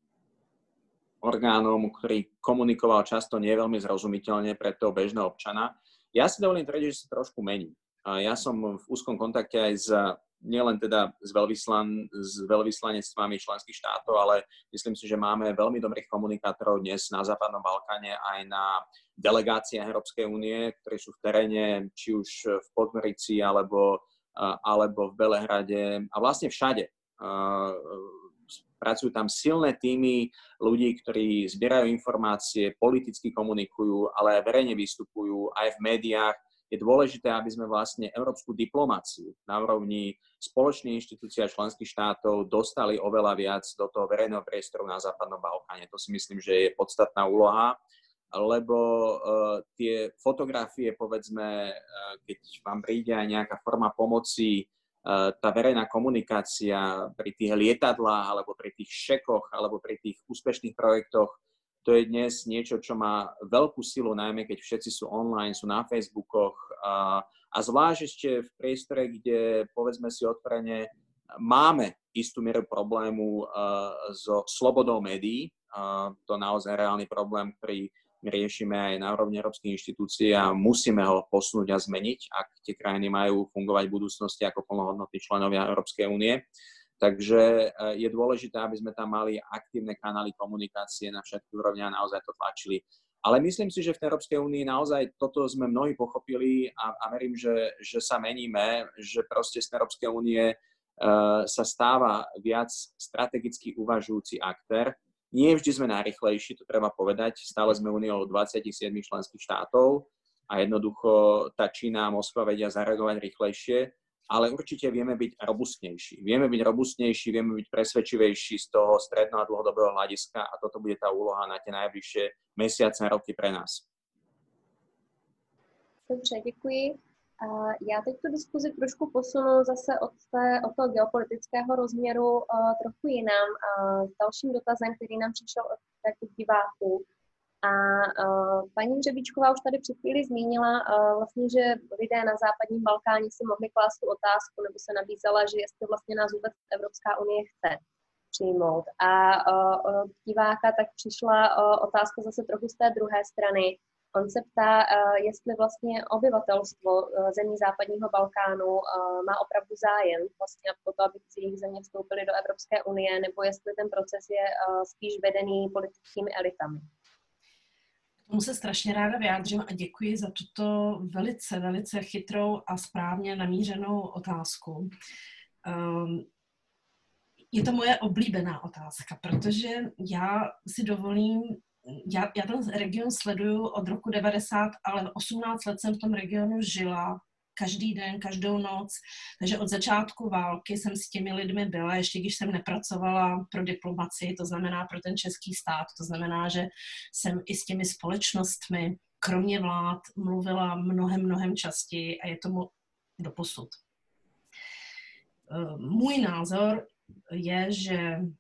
orgánom, ktorý komunikoval často nie veľmi zrozumiteľne pre toho bežného občana. Ja si dovolím tvrdiť, že sa trošku mení. Ja som v úzkom kontakte aj s, nielen teda s, veľvyslan, s veľvyslanectvami členských štátov, ale myslím si, že máme veľmi dobrých komunikátorov dnes na Západnom Balkáne aj na delegáciách Európskej únie, ktorí sú v teréne, či už v Podgorici alebo, alebo v Belehrade a vlastne všade. pracujú tam silné týmy ľudí, ktorí zbierajú informácie, politicky komunikujú, ale aj verejne vystupujú aj v médiách. Je dôležité, aby sme vlastne európsku diplomáciu na úrovni spoločných inštitúcií a členských štátov dostali oveľa viac do toho verejného priestoru na Západnom Balkáne. To si myslím, že je podstatná úloha, lebo uh, tie fotografie, povedzme, uh, keď vám príde aj nejaká forma pomoci, uh, tá verejná komunikácia pri tých lietadlách, alebo pri tých šekoch, alebo pri tých úspešných projektoch, to je dnes niečo, čo má veľkú silu, najmä keď všetci sú online, sú na Facebookoch uh, a zvlášť ešte v priestore, kde, povedzme si otvorene, máme istú mieru problému uh, so slobodou médií. Uh, to naozaj reálny problém, ktorý my riešime aj na úrovni európskych inštitúcií a musíme ho posunúť a zmeniť, ak tie krajiny majú fungovať v budúcnosti ako plnohodnotní členovia Európskej únie. Takže je dôležité, aby sme tam mali aktívne kanály komunikácie na všetkých úrovniach a naozaj to tlačili. Ale myslím si, že v Európskej únii naozaj toto sme mnohí pochopili a, a verím, že, že sa meníme, že proste z Európskej únie uh, sa stáva viac strategicky uvažujúci aktér. Nie vždy sme najrýchlejší, to treba povedať. Stále sme úniou dvadsaťsedem členských štátov a jednoducho tá Čína a Moskva vedia zareagovať rýchlejšie, ale určite vieme byť robustnejší. Vieme byť robustnejší, vieme byť presvedčivejší z toho stredno- a dlhodobého hľadiska a toto bude tá úloha na tie najbližšie mesiace a roky pre nás. Dobře, děkuji. Já teď tu diskuzi trošku posunu zase od, té, od toho geopolitického rozměru uh, trochu jinam. Uh, s dalším dotazem, který nám přišel od těch diváků. A uh, paní Hřebíčková už tady před chvíli zmínila, uh, vlastně, že lidé na západním Balkáně si mohli klást tu otázku, nebo se nabízela, že jestli vlastně nás vůbec Evropská unie chce přijmout. A uh, od diváka tak přišla uh, otázka zase trochu z té druhé strany. On se ptá, jestli vlastně obyvatelstvo zemí západního Balkánu má opravdu zájem vlastně o to, aby jejich země vstoupily do Evropské unie, nebo jestli ten proces je spíš vedený politickými elitami. K tomu se strašně ráda vyjádřím a děkuji za tuto velice, velice chytrou a správně namířenou otázku. Um, je to moje oblíbená otázka, protože já si dovolím Já, já ten region sleduju od roku devadesát, ale osmnáct let jsem v tom regionu žila, každý den, každou noc, takže od začátku války jsem s těmi lidmi byla, ještě když jsem nepracovala pro diplomacii, to znamená pro ten český stát, to znamená, že jsem i s těmi společnostmi, kromě vlád, mluvila mnohem, mnohem častěji a je tomu doposud. Můj názor je, že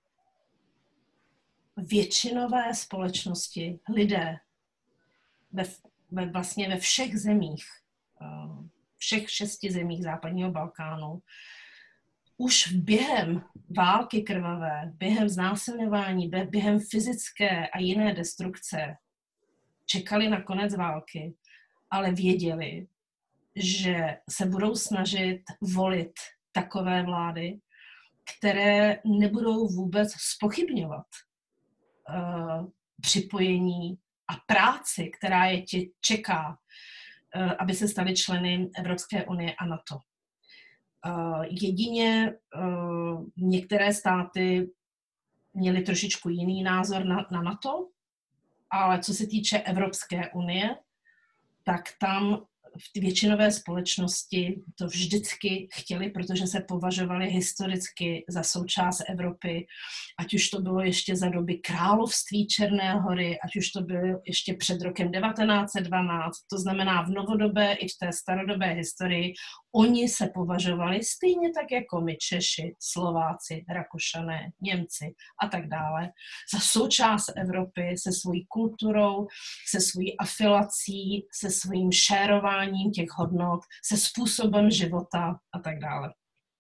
většinové společnosti, lidé ve, ve, vlastně ve všech zemích, všech šesti zemích západního Balkánu, už během války krvavé, během znásilňování, během fyzické a jiné destrukce čekali na konec války, ale věděli, že se budou snažit volit takové vlády, které nebudou vůbec zpochybňovat Uh, připojení a práci, která je tě čeká, uh, aby se stali členy Evropské unie a NATO. Uh, jedině uh, některé státy měly trošičku jiný názor na, na NATO, ale co se týče Evropské unie, tak tam v většinové společnosti to vždycky chtěli, protože se považovali historicky za součást Evropy, ať už to bylo ještě za doby království Černé Hory, ať už to bylo ještě před rokem devatenáct set dvanáct, to znamená v novodobé i v té starodobé historii, oni se považovali stejně tak jako my Češi, Slováci, Rakušané, Němci a tak dále, za součást Evropy se svojí kulturou, se svojí afilací, se svým šérováním těch hodnot, se způsobem života a tak dále.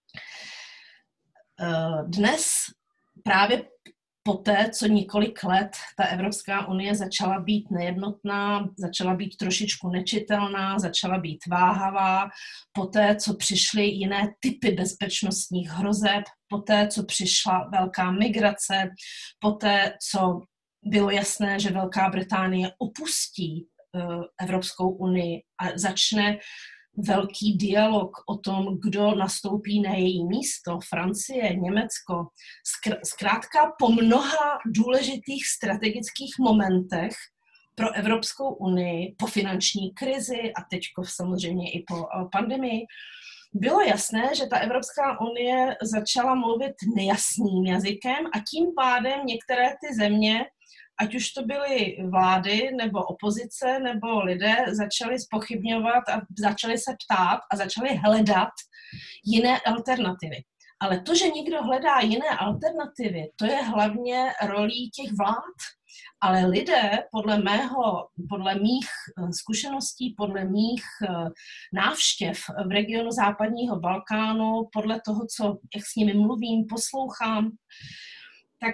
Dnes právě poté, co několik let ta Evropská unie začala být nejednotná, začala být trošičku nečitelná, začala být váhavá, poté, co přišly jiné typy bezpečnostních hrozeb, poté, co přišla velká migrace, poté, co bylo jasné, že Velká Británie opustí uh, Evropskou unii a začne velký dialog o tom, kdo nastoupí na její místo, Francie, Německo. Zkrátka po mnoha důležitých strategických momentech pro Evropskou unii, po finanční krizi a teďko samozřejmě i po pandemii, bylo jasné, že ta Evropská unie začala mluvit nejasným jazykem a tím pádem některé ty země, ať už to byly vlády, nebo opozice, nebo lidé, začali zpochybňovat a začali se ptát a začali hledat jiné alternativy. Ale to, že někdo hledá jiné alternativy, to je hlavně rolí těch vlád. Ale lidé, podle mého, podle mých zkušeností, podle mých návštěv v regionu západního Balkánu, podle toho, co, jak s nimi mluvím, poslouchám, tak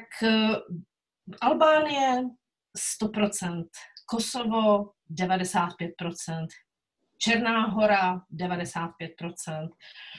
Albánie sto procent, Kosovo devadesát pět procent, Černá Hora devadesát pět procent,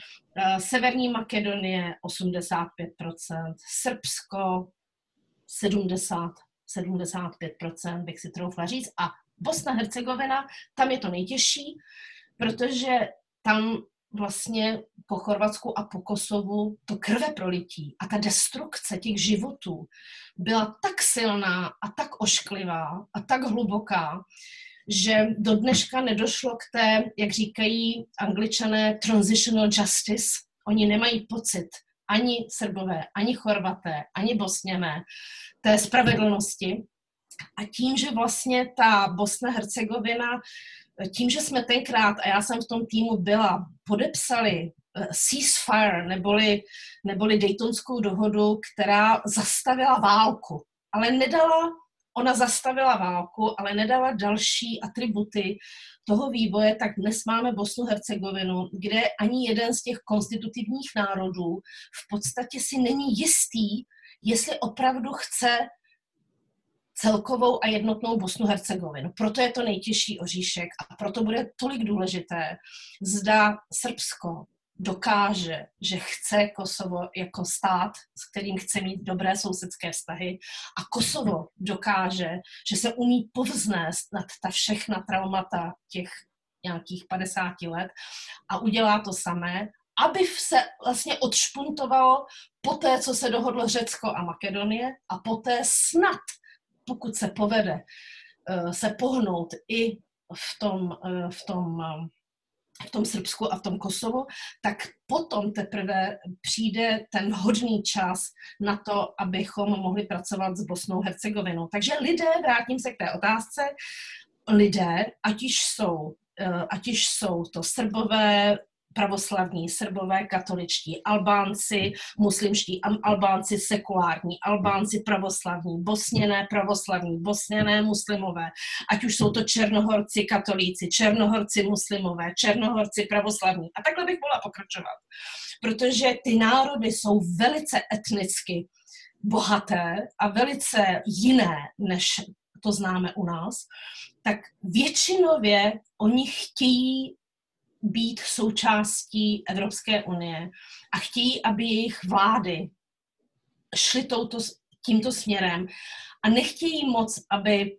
Severní Makedonie osmdesát pět procent, Srbsko sedmdesát, sedmdesát pět procent, bych si troufla říct, a Bosna Hercegovina, tam je to nejtěžší, protože tam vlastně po Chorvatsku a po Kosovu to krveprolití a ta destrukce těch životů byla tak silná a tak ošklivá a tak hluboká, že do dneška nedošlo k té, jak říkají Angličané, transitional justice. Oni nemají pocit, ani Srbové, ani Chorvaté, ani Bosňané, té spravedlnosti. A tím, že vlastně ta Bosna Hercegovina, tím, že jsme tenkrát, a já jsem v tom týmu byla, podepsali ceasefire, neboli, neboli Daytonskou dohodu, která zastavila válku, ale nedala, ona zastavila válku, ale nedala další atributy toho vývoje, tak dnes máme Bosnu Hercegovinu, kde ani jeden z těch konstitutivních národů v podstatě si není jistý, jestli opravdu chce celkovou a jednotnou Bosnu Hercegovinu. Proto je to nejtěžší oříšek a proto bude tolik důležité, zda Srbsko dokáže, že chce Kosovo jako stát, s kterým chce mít dobré sousedské vztahy, a Kosovo dokáže, že se umí povznést nad ta všechna traumata těch nějakých padesáti let a udělá to samé, aby se vlastně odšpuntovalo po té, co se dohodlo Řecko a Makedonie, a poté snad, pokud se povede se pohnout i v tom, v tom, v tom Srbsku a v tom Kosovu, tak potom teprve přijde ten hodný čas na to, abychom mohli pracovat s Bosnou Hercegovinou. Takže lidé, vrátím se k té otázce, lidé, ať již jsou, ať již jsou to Srbové, pravoslavní, Srbové, katoličtí, Albánci, muslimští, Albánci sekulární, Albánci pravoslavní, Bosněné pravoslavní, Bosněné muslimové, ať už jsou to Černohorci katolíci, Černohorci muslimové, Černohorci pravoslavní. A takhle bych mohla pokračovat, protože ty národy jsou velice etnicky bohaté a velice jiné, než to známe u nás, tak většinově oni chtějí být součástí Evropské unie a chtějí, aby jejich vlády šly touto, tímto směrem a nechtějí moc, aby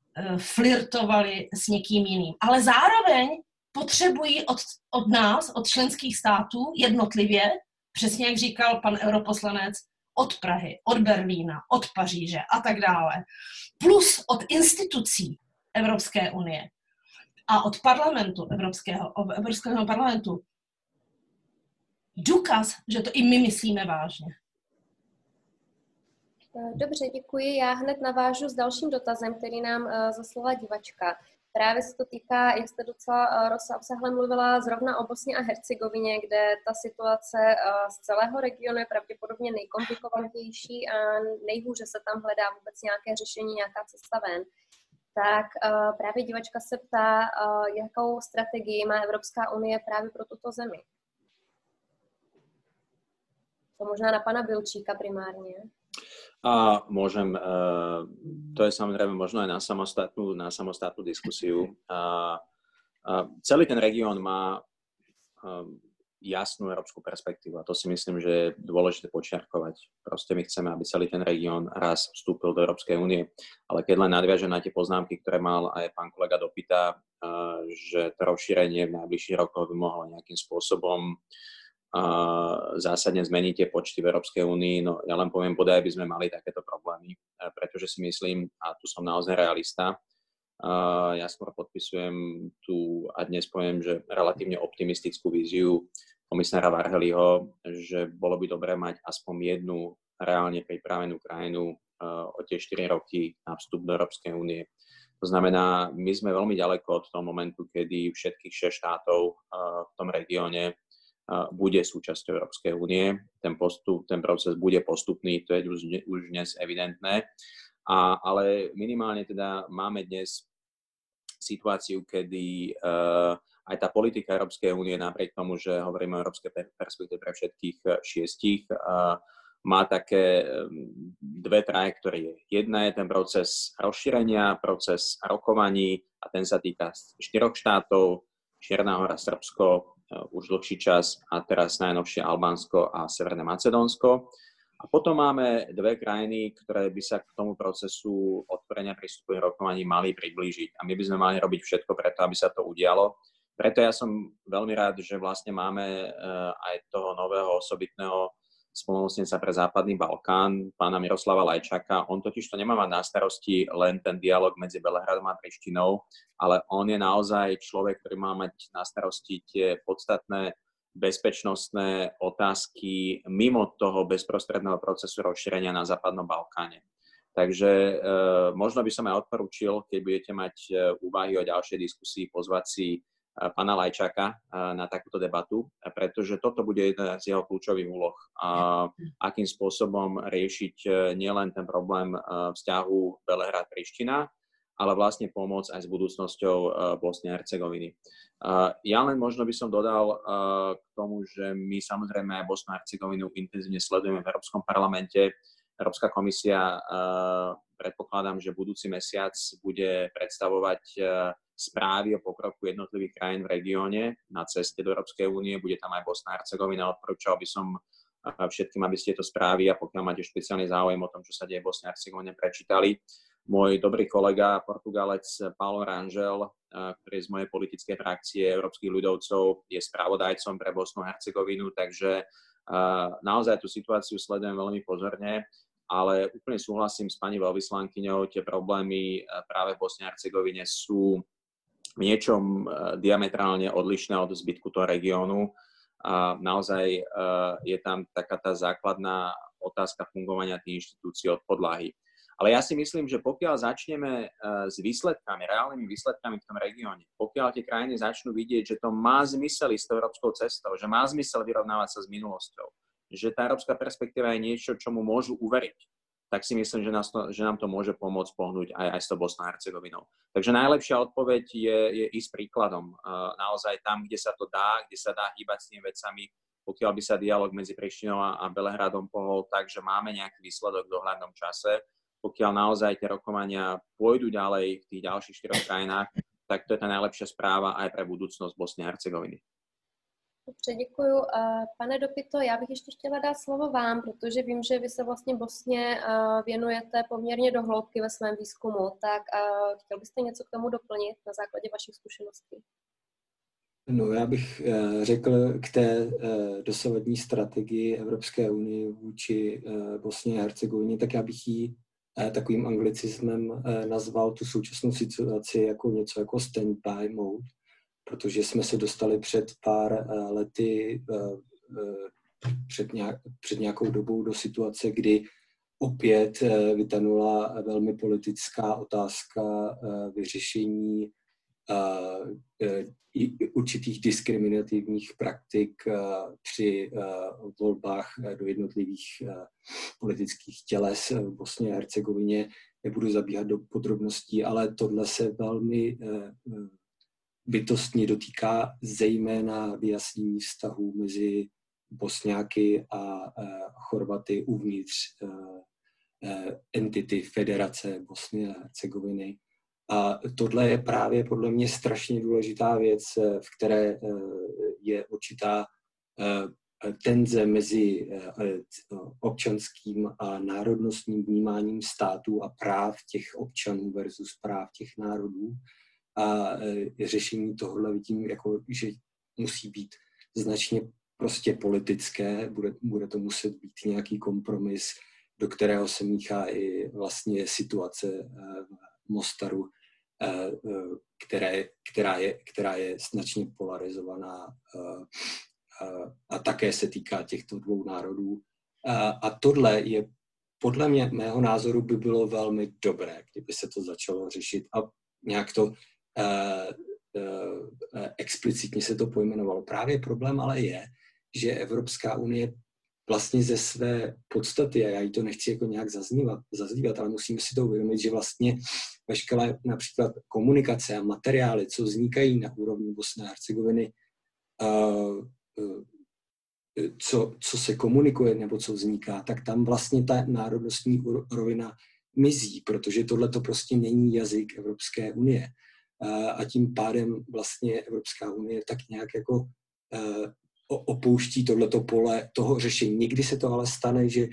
flirtovali s někým jiným. Ale zároveň potřebují od, od nás, od členských států jednotlivě, přesně jak říkal pan europoslanec, od Prahy, od Berlína, od Paříže a tak dále, plus od institucí Evropské unie a od parlamentu Evropského, Evropského parlamentu důkaz, že to i my myslíme vážně. Dobře, děkuji. Já hned navážu s dalším dotazem, který nám uh, zaslala divačka. Právě se to týká, jak jste docela uh, rozsáhle mluvila, zrovna o Bosně a Hercegovině, kde ta situace uh, z celého regionu je pravděpodobně nejkomplikovanější a nejhůře se tam hledá vůbec nějaké řešení, nějaká cesta ven. Tak uh, právě divačka se ptá, uh, jakou strategii má Evropská unie právě pro tuto zemi. To možná na pana Bilčíka primárně. A môžem, to je samozrejme možno aj na samostatnú, na samostatnú diskusiu. A, a celý ten región má jasnú európsku perspektívu. A to si myslím, že je dôležité počiarkovať. Proste my chceme, aby celý ten región raz vstúpil do Európskej únie. Ale keď len nadviažem na tie poznámky, ktoré mal aj pán kolega Dopita, že to rozšírenie v najbližších rokoch by mohlo nejakým spôsobom zásadne zmeniť tie počty v Európskej únii, no ja len poviem, bodaj by sme mali takéto problémy, pretože si myslím, a tu som naozaj realista, Uh, ja skôr podpisujem tu a dnes poviem, že relatívne optimistickú víziu komisára Varheliho, že bolo by dobré mať aspoň jednu reálne pripravenú krajinu uh, o tie štyri roky na vstup do Európskej únie. To znamená, my sme veľmi ďaleko od toho momentu, kedy všetkých šesť štátov uh, v tom regióne uh, bude súčasťou Európskej únie. Ten postup, ten proces bude postupný, to je už, už dnes evidentné. A, ale minimálne teda máme dnes situáciu, kedy uh, aj tá politika Európskej únie, napriek tomu, že hovoríme o európskej perspektíve pre všetkých šiestich, uh, má také um, dve trajektórie. Jedna je ten proces rozšírenia, proces rokovaní a ten sa týka štyroch štátov, Čierna Hora, Srbsko, uh, už dlhší čas a teraz najnovšie Albánsko a Severné Macedónsko. A potom máme dve krajiny, ktoré by sa k tomu procesu otvorenia prístupových rokovaní mali priblížiť. A my by sme mali robiť všetko preto, aby sa to udialo. Preto ja som veľmi rád, že vlastne máme aj toho nového osobitného spolumocnenca pre Západný Balkán, pána Miroslava Lajčáka. On totiž to nemá mať na starosti len ten dialog medzi Belehradom a Prištinou, ale on je naozaj človek, ktorý má mať na starosti tie podstatné bezpečnostné otázky mimo toho bezprostredného procesu rozšírenia na Západnom Balkáne. Takže e, možno by som aj odporúčil, keď budete mať e, úvahy o ďalšej diskusii, pozvať si e, pána Lajčáka e, na takúto debatu, pretože toto bude jedna z jeho kľúčových úloh. A akým spôsobom riešiť e, nielen ten problém e, vzťahu Belehrad-Priština, ale vlastne pomôcť aj s budúcnosťou uh, Bosny a Hercegoviny. Uh, ja len možno by som dodal uh, k tomu, že my samozrejme aj Bosnu a Hercegovinu intenzívne sledujeme v Európskom parlamente. Európska komisia, uh, predpokladám, že budúci mesiac bude predstavovať uh, správy o pokroku jednotlivých krajín v regióne na ceste do Európskej únie. Bude tam aj Bosna a Hercegovina. Odporúčal by som uh, všetkým, aby ste tieto správy a pokiaľ máte špeciálny záujem o tom, čo sa deje v Bosne a Hercegovine, prečítali. Môj dobrý kolega, Portugalec Paulo Rangel, ktorý je z mojej politickej frakcie Európskych ľudovcov, je spravodajcom pre Bosnu a Hercegovinu, takže naozaj tú situáciu sledujem veľmi pozorne, ale úplne súhlasím s pani veľvyslankyňou, tie problémy práve v Bosne a Hercegovine sú v niečom diametrálne odlišné od zbytku toho regiónu. Naozaj je tam taká tá základná otázka fungovania tých inštitúcií od podlahy. Ale ja si myslím, že pokiaľ začneme s výsledkami, reálnymi výsledkami v tom regióne, pokiaľ tie krajiny začnú vidieť, že to má zmysel ísť tou európskou cestou, že má zmysel vyrovnávať sa s minulosťou, že tá európska perspektíva je niečo, čomu môžu uveriť, tak si myslím, že, nás to, že nám to môže pomôcť pohnúť aj, aj s tou Bosnou a Hercegovinou. Takže najlepšia odpoveď je, je ísť príkladom. Naozaj tam, kde sa to dá, kde sa dá hýbať s tými vecami, pokiaľ by sa dialog medzi Prištinou a Belehradom pohol tak, že máme nejaký výsledok v dohľadnom čase, pokiaľ naozaj tie rokovania pôjdu ďalej v tých ďalších štyroch krajinách, tak to je tá najlepšia správa aj pre budúcnosť Bosny a Hercegoviny. Dobře, děkuju. Pane Dopito, já bych ještě chtěla dát slovo vám, protože vím, že vy se vlastně Bosně věnujete poměrně do hloubky ve svém výzkumu, tak chtěl byste něco k tomu doplnit na základě vašich zkušeností? No, já bych řekl k té dosavadní strategii Evropské unie vůči Bosně a Hercegovině, tak já bych ji takovým anglicismem nazval tu současnou situaci jako něco jako stand-by mode, protože jsme se dostali před pár lety, před, nějak, před nějakou dobou do situace, kdy opět vytanula velmi politická otázka vyřešení určitých diskriminativních praktik při volbách do jednotlivých politických těles v Bosně a Hercegovině. Nebudu zabíhat do podrobností, ale tohle se velmi bytostně dotýká zejména vyjasnění vztahů mezi Bosňáky a Chorvaty uvnitř entity Federace Bosny a Hercegoviny. A tohle je právě podle mě strašně důležitá věc, v které je určitá tenze mezi občanským a národnostním vnímáním státu a práv těch občanů versus práv těch národů. A řešení tohohle vidím, jako, že musí být značně prostě politické, bude, bude to muset být nějaký kompromis, do kterého se míchá i vlastně situace v Mostaru, které, která, je, která je značně polarizovaná a také se týká těchto dvou národů. A tohle je podle mě, mého názoru by bylo velmi dobré, kdyby se to začalo řešit a nějak to explicitně se to pojmenovalo. Právě problém ale je, že Evropská unie vlastně ze své podstaty, a já jí to nechci jako nějak zaznívat, zaznívat, ale musíme si to uvědomit, že vlastně veškeré například komunikace a materiály, co vznikají na úrovni Bosny a Hercegoviny, co, co se komunikuje nebo co vzniká, tak tam vlastně ta národnostní rovina mizí, protože tohle to prostě není jazyk Evropské unie. A tím pádem vlastně Evropská unie tak nějak jako opouští tohleto pole toho řešení. Někdy se to ale stane, že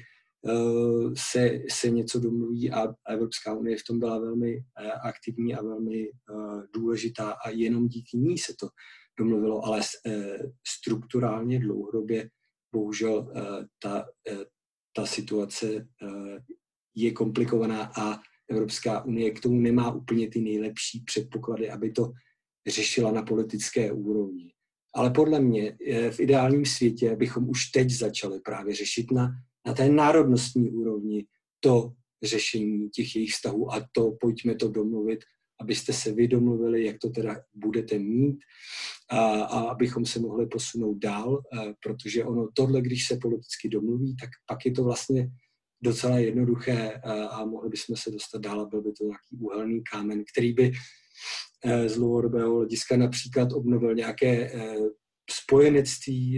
se, se něco domluví a Evropská unie v tom byla velmi aktivní a velmi důležitá a jenom díky ní se to domluvilo, ale strukturálně dlouhodobě bohužel ta, ta situace je komplikovaná a Evropská unie k tomu nemá úplně ty nejlepší předpoklady, aby to řešila na politické úrovni. Ale podle mě v ideálním světě bychom už teď začali právě řešit na, na té národnostní úrovni to řešení těch jejich vztahů a to pojďme to domluvit, abyste se vy domluvili, jak to teda budete mít a, a abychom se mohli posunout dál, protože ono tohle, když se politicky domluví, tak pak je to vlastně docela jednoduché a, a mohli bychom se dostat dál a byl by to nějaký úhelný kámen, který by z dlouhodobého hlediska například obnovil nějaké spojenectví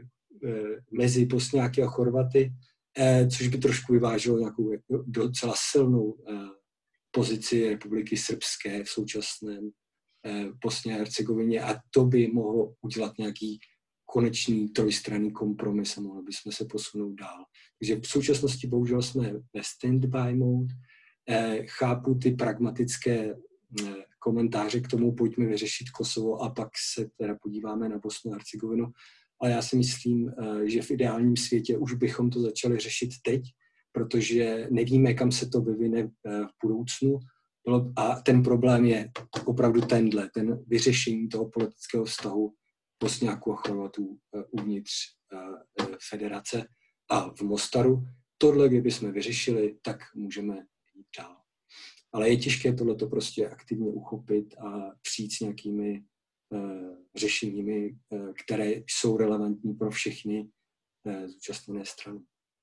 mezi Bosňáky a Chorvaty, což by trošku vyvážilo nějakou docela silnou pozici Republiky Srbské v současném Bosně a Hercegovině a to by mohlo udělat nějaký konečný trojstranný kompromis a mohli bychom se posunout dál. Takže v současnosti bohužel jsme ve stand-by mode. Chápu ty pragmatické komentáře k tomu, pojďme vyřešit Kosovo a pak se teda podíváme na Bosnu a Hercegovinu. Ale já si myslím, že v ideálním světě už bychom to začali řešit teď, protože nevíme, kam se to vyvine v budoucnu. A ten problém je opravdu tenhle, ten vyřešení toho politického vztahu Bosňáků a Chorvatů uvnitř federace a v Mostaru. Tohle, kdybychom vyřešili, tak můžeme jít dál. Ale je těžké tohleto prostě aktivně uchopit a přijít s nějakými uh, řešeními, uh, které jsou relevantní pro všechny uh, zúčastněné strany.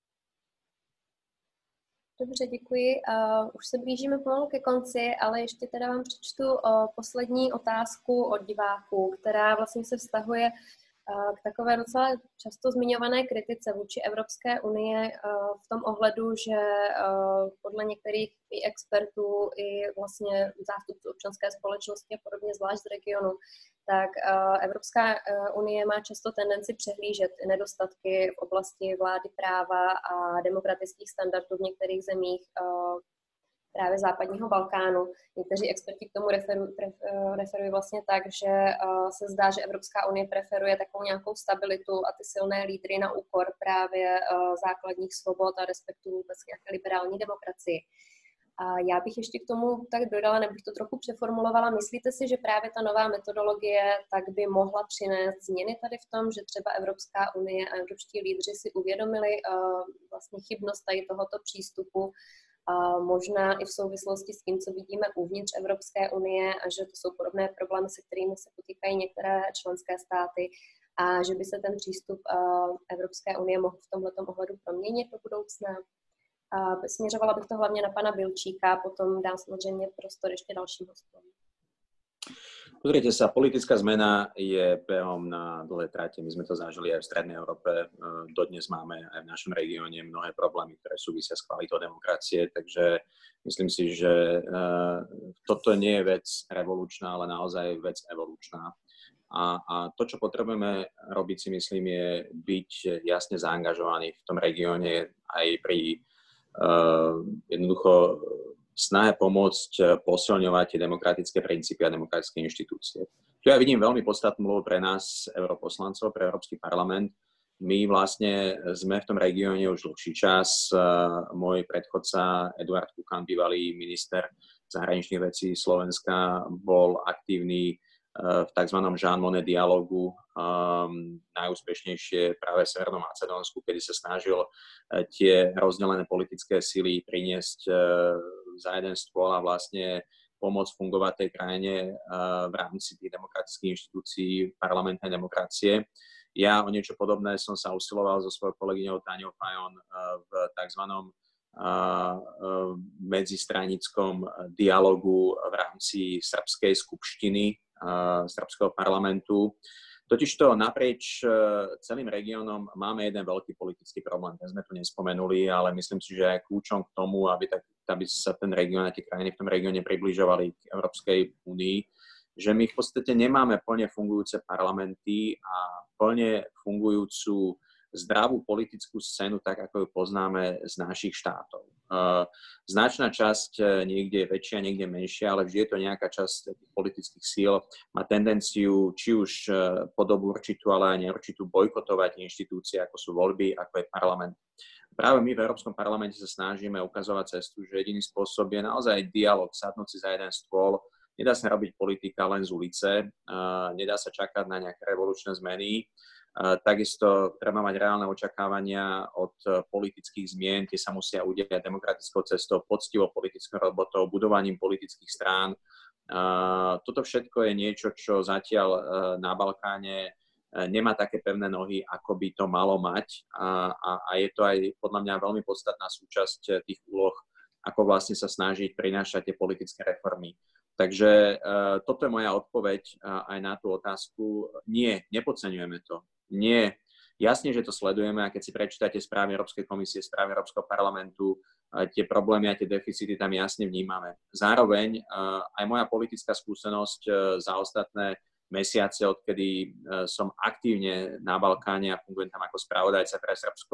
Dobře, děkuji. Uh, už se blížíme pomalu ke konci, ale ještě teda vám přečtu uh, poslední otázku od diváků, která vlastně se vztahuje uh, k takové docela často zmiňované kritice vůči Evropské unie uh, v tom ohledu, že uh, podle některých i expertů, i vlastně zástupců občanské společnosti a podobně, zvlášť z regionu, tak uh, Evropská unie má často tendenci přehlížet nedostatky v oblasti vlády práva a demokratických standardů v některých zemích uh, právě západního Balkánu. Někteří experti k tomu referují, referují vlastně tak, že uh, se zdá, že Evropská unie preferuje takovou nějakou stabilitu a ty silné lídry na úkor právě uh, základních svobod a respektu vůbec nějaké liberální demokracii. A já bych ještě k tomu tak dodala, nebo bych to trochu přeformulovala. Myslíte si, že právě ta nová metodologie tak by mohla přinést změny tady v tom, že třeba Evropská unie a evropští lídři si uvědomili uh, vlastně chybnost tady tohoto přístupu, a možná i v souvislosti s tím, co vidíme uvnitř Evropské unie a že to jsou podobné problémy, se kterými se potýkají některé členské státy a že by se ten přístup uh, Evropské unie mohl v tomhletom ohledu proměnit do budoucna. Uh, směřovala bych to hlavně na pana Bilčíka, potom dám samozřejmě prostor ještě dalším hostům. Pozrite sa, politická zmena je behom na dlhé trate. My sme to zažili aj v Strednej Európe. Dodnes máme aj v našom regióne mnohé problémy, ktoré súvisia s kvalitou demokracie, takže myslím si, že toto nie je vec revolučná, ale naozaj vec evolučná. A, a to, čo potrebujeme robiť, si myslím, je byť jasne zaangažovaný v tom regióne aj pri uh, jednoducho snahe pomôcť posilňovať tie demokratické princípy a demokratické inštitúcie. Tu ja vidím veľmi podstatnú úlohu pre nás, europoslancov, pre Európsky parlament. My vlastne sme v tom regióne už dlhší čas. Môj predchodca Eduard Kukan, bývalý minister zahraničných vecí Slovenska, bol aktívny v tzv. Jean Monnet dialogu, um, najúspešnejšie práve v Severnom Macedónsku, kedy sa snažil tie rozdelené politické síly priniesť uh, za jeden stôl a vlastne pomôcť fungovať tej krajine uh, v rámci tých demokratických inštitúcií parlamentnej demokracie. Ja o niečo podobné som sa usiloval so svojou kolegyňou Táňou Fajon uh, v tzv. Uh, medzistranickom dialogu v rámci srbskej skupštiny srbského parlamentu. Totižto naprieč celým regiónom máme jeden veľký politický problém. Ten sme tu nespomenuli, ale myslím si, že aj kľúčom k tomu, aby, tak, aby sa ten región a tie krajiny v tom regióne približovali k Európskej únii, že my v podstate nemáme plne fungujúce parlamenty a plne fungujúcu zdravú politickú scénu, tak ako ju poznáme z našich štátov. Značná časť niekde je väčšia, niekde menšia, ale vždy je to nejaká časť tých politických síl, má tendenciu či už po dobu určitú, ale aj neurčitú bojkotovať inštitúcie, ako sú voľby, ako je parlament. Práve my v Európskom parlamente sa snažíme ukazovať cestu, že jediný spôsob je naozaj dialog, sadnúť si za jeden stôl. Nedá sa robiť politika len z ulice, nedá sa čakať na nejaké revolučné zmeny. Takisto treba mať reálne očakávania od politických zmien, tie sa musia udiať demokratickou cestou, poctivou politickou robotou, budovaním politických strán. Toto všetko je niečo, čo zatiaľ na Balkáne nemá také pevné nohy, ako by to malo mať. A, a, a je to aj podľa mňa veľmi podstatná súčasť tých úloh, ako vlastne sa snažiť prinášať tie politické reformy. Takže toto je moja odpoveď aj na tú otázku. Nie, nepodceňujeme to. Nie. Jasne, že to sledujeme a keď si prečítate správy Európskej komisie, správy Európskeho parlamentu, tie problémy a tie deficity tam jasne vnímame. Zároveň aj moja politická skúsenosť za ostatné mesiace, odkedy som aktívne na Balkáne a fungujem tam ako spravodajca pre Srbsko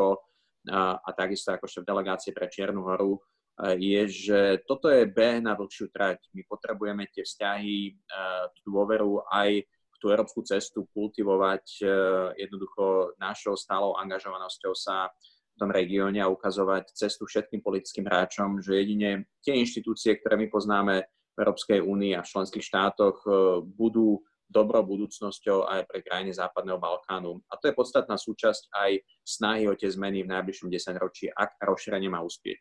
a takisto ako šéf delegácie pre Čiernu Horu, je, že toto je beh na dlhšiu trať. My potrebujeme tie vzťahy, tú dôveru aj tú európsku cestu kultivovať jednoducho našou stálou angažovanosťou sa v tom regióne a ukazovať cestu všetkým politickým hráčom, že jedine tie inštitúcie, ktoré my poznáme v Európskej únii a v členských štátoch, budú dobrou budúcnosťou aj pre krajiny Západného Balkánu. A to je podstatná súčasť aj snahy o tie zmeny v najbližšom desaťročí, ak rozšírenie má uspieť.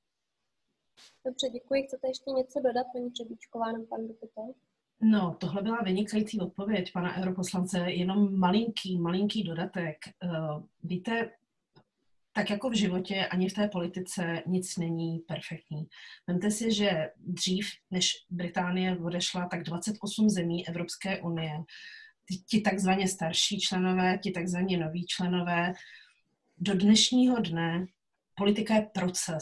Dobře, děkuji. Chcete ještě něco dodat, paní Třebíčková, nebo pan Dupito? No, tohle byla vynikající odpověď pana europoslance, jenom malinký, malinký dodatek. Uh, víte, tak jako v životě, ani v té politice nic není perfektní. Vemte si, že dřív, než Británie odešla, tak dvacet osm zemí Evropské unie, ti takzvaně starší členové, ti takzvaně noví členové, do dnešního dne politika je proces.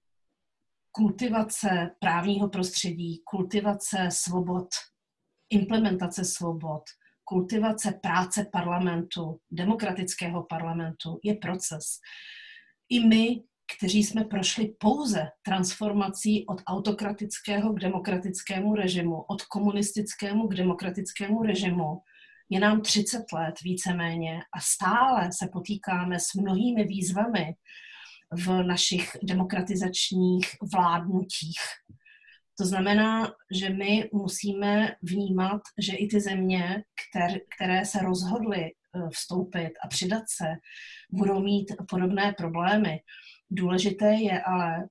Kultivace právního prostředí, kultivace svobod, implementace svobod, kultivace práce parlamentu, demokratického parlamentu je proces. I my, kteří jsme prošli pouze transformací od autokratického k demokratickému režimu, od komunistickému k demokratickému režimu, je nám třicet let víceméně a stále se potýkáme s mnohými výzvami v našich demokratizačních vládnutích. To znamená, že my musíme vnímat, že i ty země, které, které se rozhodly vstoupit a přidat se, budou mít podobné problémy. Důležité je ale,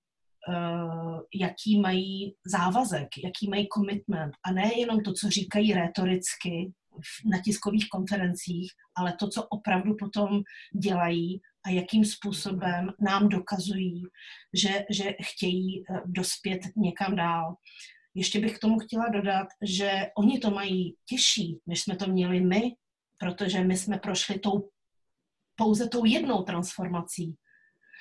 jaký mají závazek, jaký mají commitment a ne jenom to, co říkají rétoricky na tiskových konferencích, ale to, co opravdu potom dělají a jakým způsobem nám dokazují, že, že chtějí dospět někam dál. Ještě bych k tomu chtěla dodat, že oni to mají těžší, než jsme to měli my, protože my jsme prošli tou, pouze tou jednou transformací.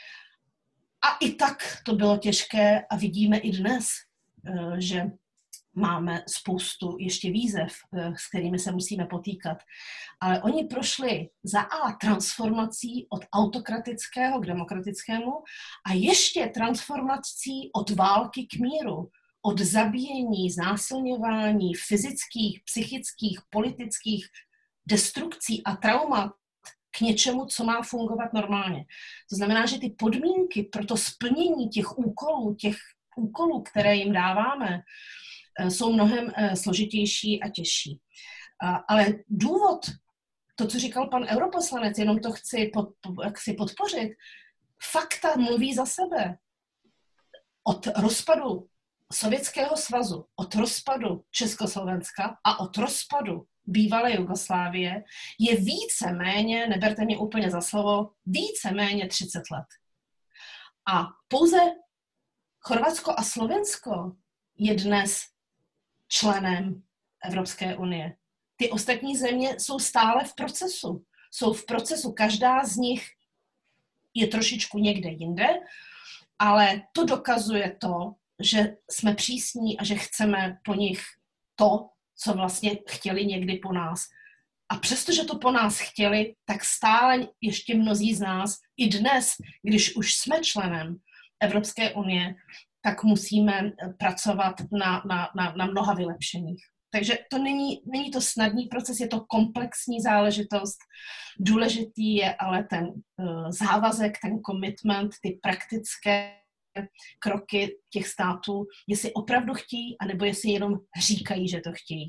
A i tak to bylo těžké a vidíme i dnes, že máme spoustu ještě výzev, s kterými se musíme potýkat. Ale oni prošli za A transformací od autokratického k demokratickému a ještě transformací od války k míru, od zabíjení, znásilňování, fyzických, psychických, politických destrukcí a traumat k něčemu, co má fungovat normálně. To znamená, že ty podmínky pro to splnění těch úkolů, těch úkolů, které jim dáváme, jsou mnohem složitější a těžší. Ale důvod, to, co říkal pan europoslanec, jenom to chci, pod, chci podpořit, fakta mluví za sebe. Od rozpadu Sovětského svazu, od rozpadu Československa a od rozpadu bývalé Jugoslávie je více méně, neberte mě úplně za slovo, více méně třicet let. A pouze Chorvatsko a Slovensko je dnes členem Evropské unie. Ty ostatní země jsou stále v procesu. Jsou v procesu, každá z nich je trošičku někde jinde, ale to dokazuje to, že jsme přísní a že chceme po nich to, co vlastně chtěli někdy po nás. A přestože to po nás chtěli, tak stále ještě mnozí z nás i dnes, když už jsme členem Evropské unie, tak musíme pracovat na, na, na, na mnoha vylepšeních. Takže to není, není to snadný proces, je to komplexní záležitost. Důležitý je ale ten uh, závazek, ten commitment, ty praktické kroky těch států, jestli opravdu chtějí, anebo jestli jenom říkají, že to chtějí.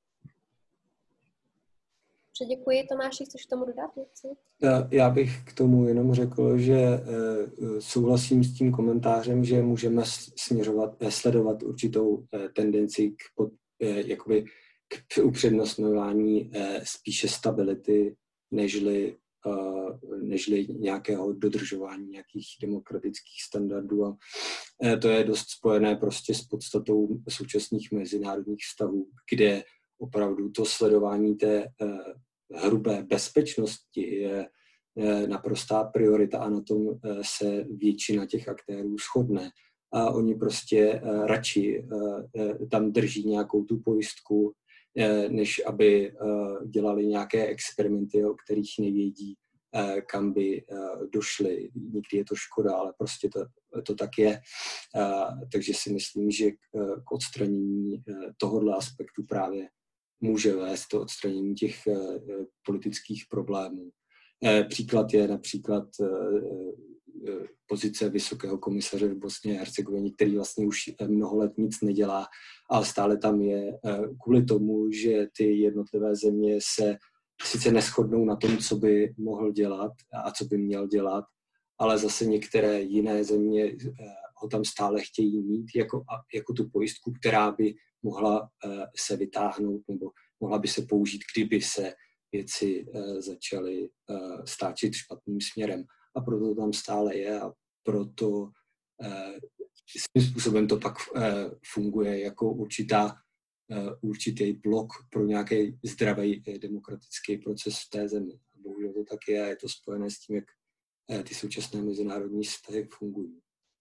Děkuji. Tomáši, chceš k tomu dodat něco? Já bych k tomu jenom řekl, že souhlasím s tím komentářem, že můžeme směřovat, sledovat určitou tendenci k, pod, jakoby k upřednostňování spíše stability, nežli, nežli nějakého dodržování nějakých demokratických standardů. A to je dost spojené prostě s podstatou současných mezinárodních vztahů, kde opravdu to sledování té hrubé bezpečnosti je naprostá priorita a na tom se většina těch aktérů shodne. A oni prostě radši tam drží nějakou tu pojistku, než aby dělali nějaké experimenty, o kterých nevědí, kam by došli. Někdy je to škoda, ale prostě to, to tak je. Takže si myslím, že k odstranění tohoto aspektu právě může vést to odstranění těch politických problémů. Příklad je například pozice vysokého komisaře v Bosně a Hercegovině, který vlastně už mnoho let nic nedělá, ale stále tam je kvůli tomu, že ty jednotlivé země se sice neshodnou na tom, co by mohl dělat a co by měl dělat, ale zase některé jiné země ho tam stále chtějí mít jako, jako tu pojistku, která by mohla se vytáhnout nebo mohla by se použít, kdyby se věci začaly stáčet špatným směrem. A proto to tam stále je a proto svým způsobem to pak funguje jako určitá, určitý blok pro nějaký zdravý demokratický proces v té zemi. A bohužel to tak je a je to spojené s tím, jak ty současné mezinárodní vztahy fungují.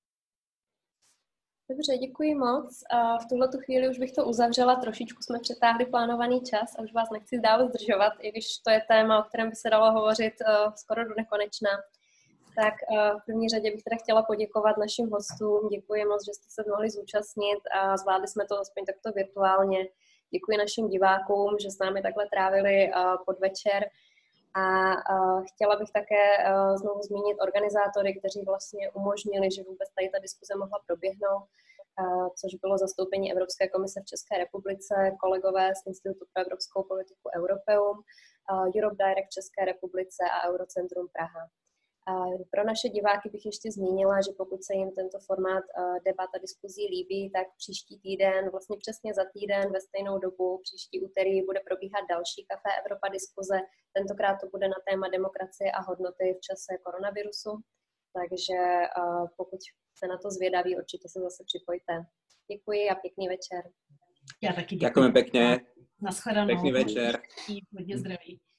Dobře, děkuji moc. V tuhletu chvíli už bych to uzavřela, trošičku jsme přetáhli plánovaný čas a už vás nechci dále zdržovat, i když to je téma, o kterém by se dalo hovořit skoro do nekonečna. Tak v první řadě bych teda chtěla poděkovat našim hostům. Děkuji moc, že jste se mohli zúčastnit a zvládli jsme to aspoň takto virtuálně. Děkuji našim divákům, že s námi takhle trávili podvečer. A chtěla bych také znovu zmínit organizátory, kteří vlastně umožnili, že vůbec tady ta diskuze mohla proběhnout, což bylo zastoupení Evropské komise v České republice, kolegové z Institutu pro evropskou politiku Europeum, Europe Direct v České republice a Eurocentrum Praha. Pro naše diváky bych ještě zmínila, že pokud se jim tento formát debat a diskuzí líbí, tak příští týden, vlastně přesně za týden ve stejnou dobu, příští úterý bude probíhat další Café Evropa diskuze. Tentokrát to bude na téma demokracie a hodnoty v čase koronavirusu. Takže pokud se na to zvědaví, určitě se zase připojte. Děkuji a pěkný večer. Já taky děkuji. Ďakujeme pekne. Naschledanou. Pekný večer. Hodně zdraví.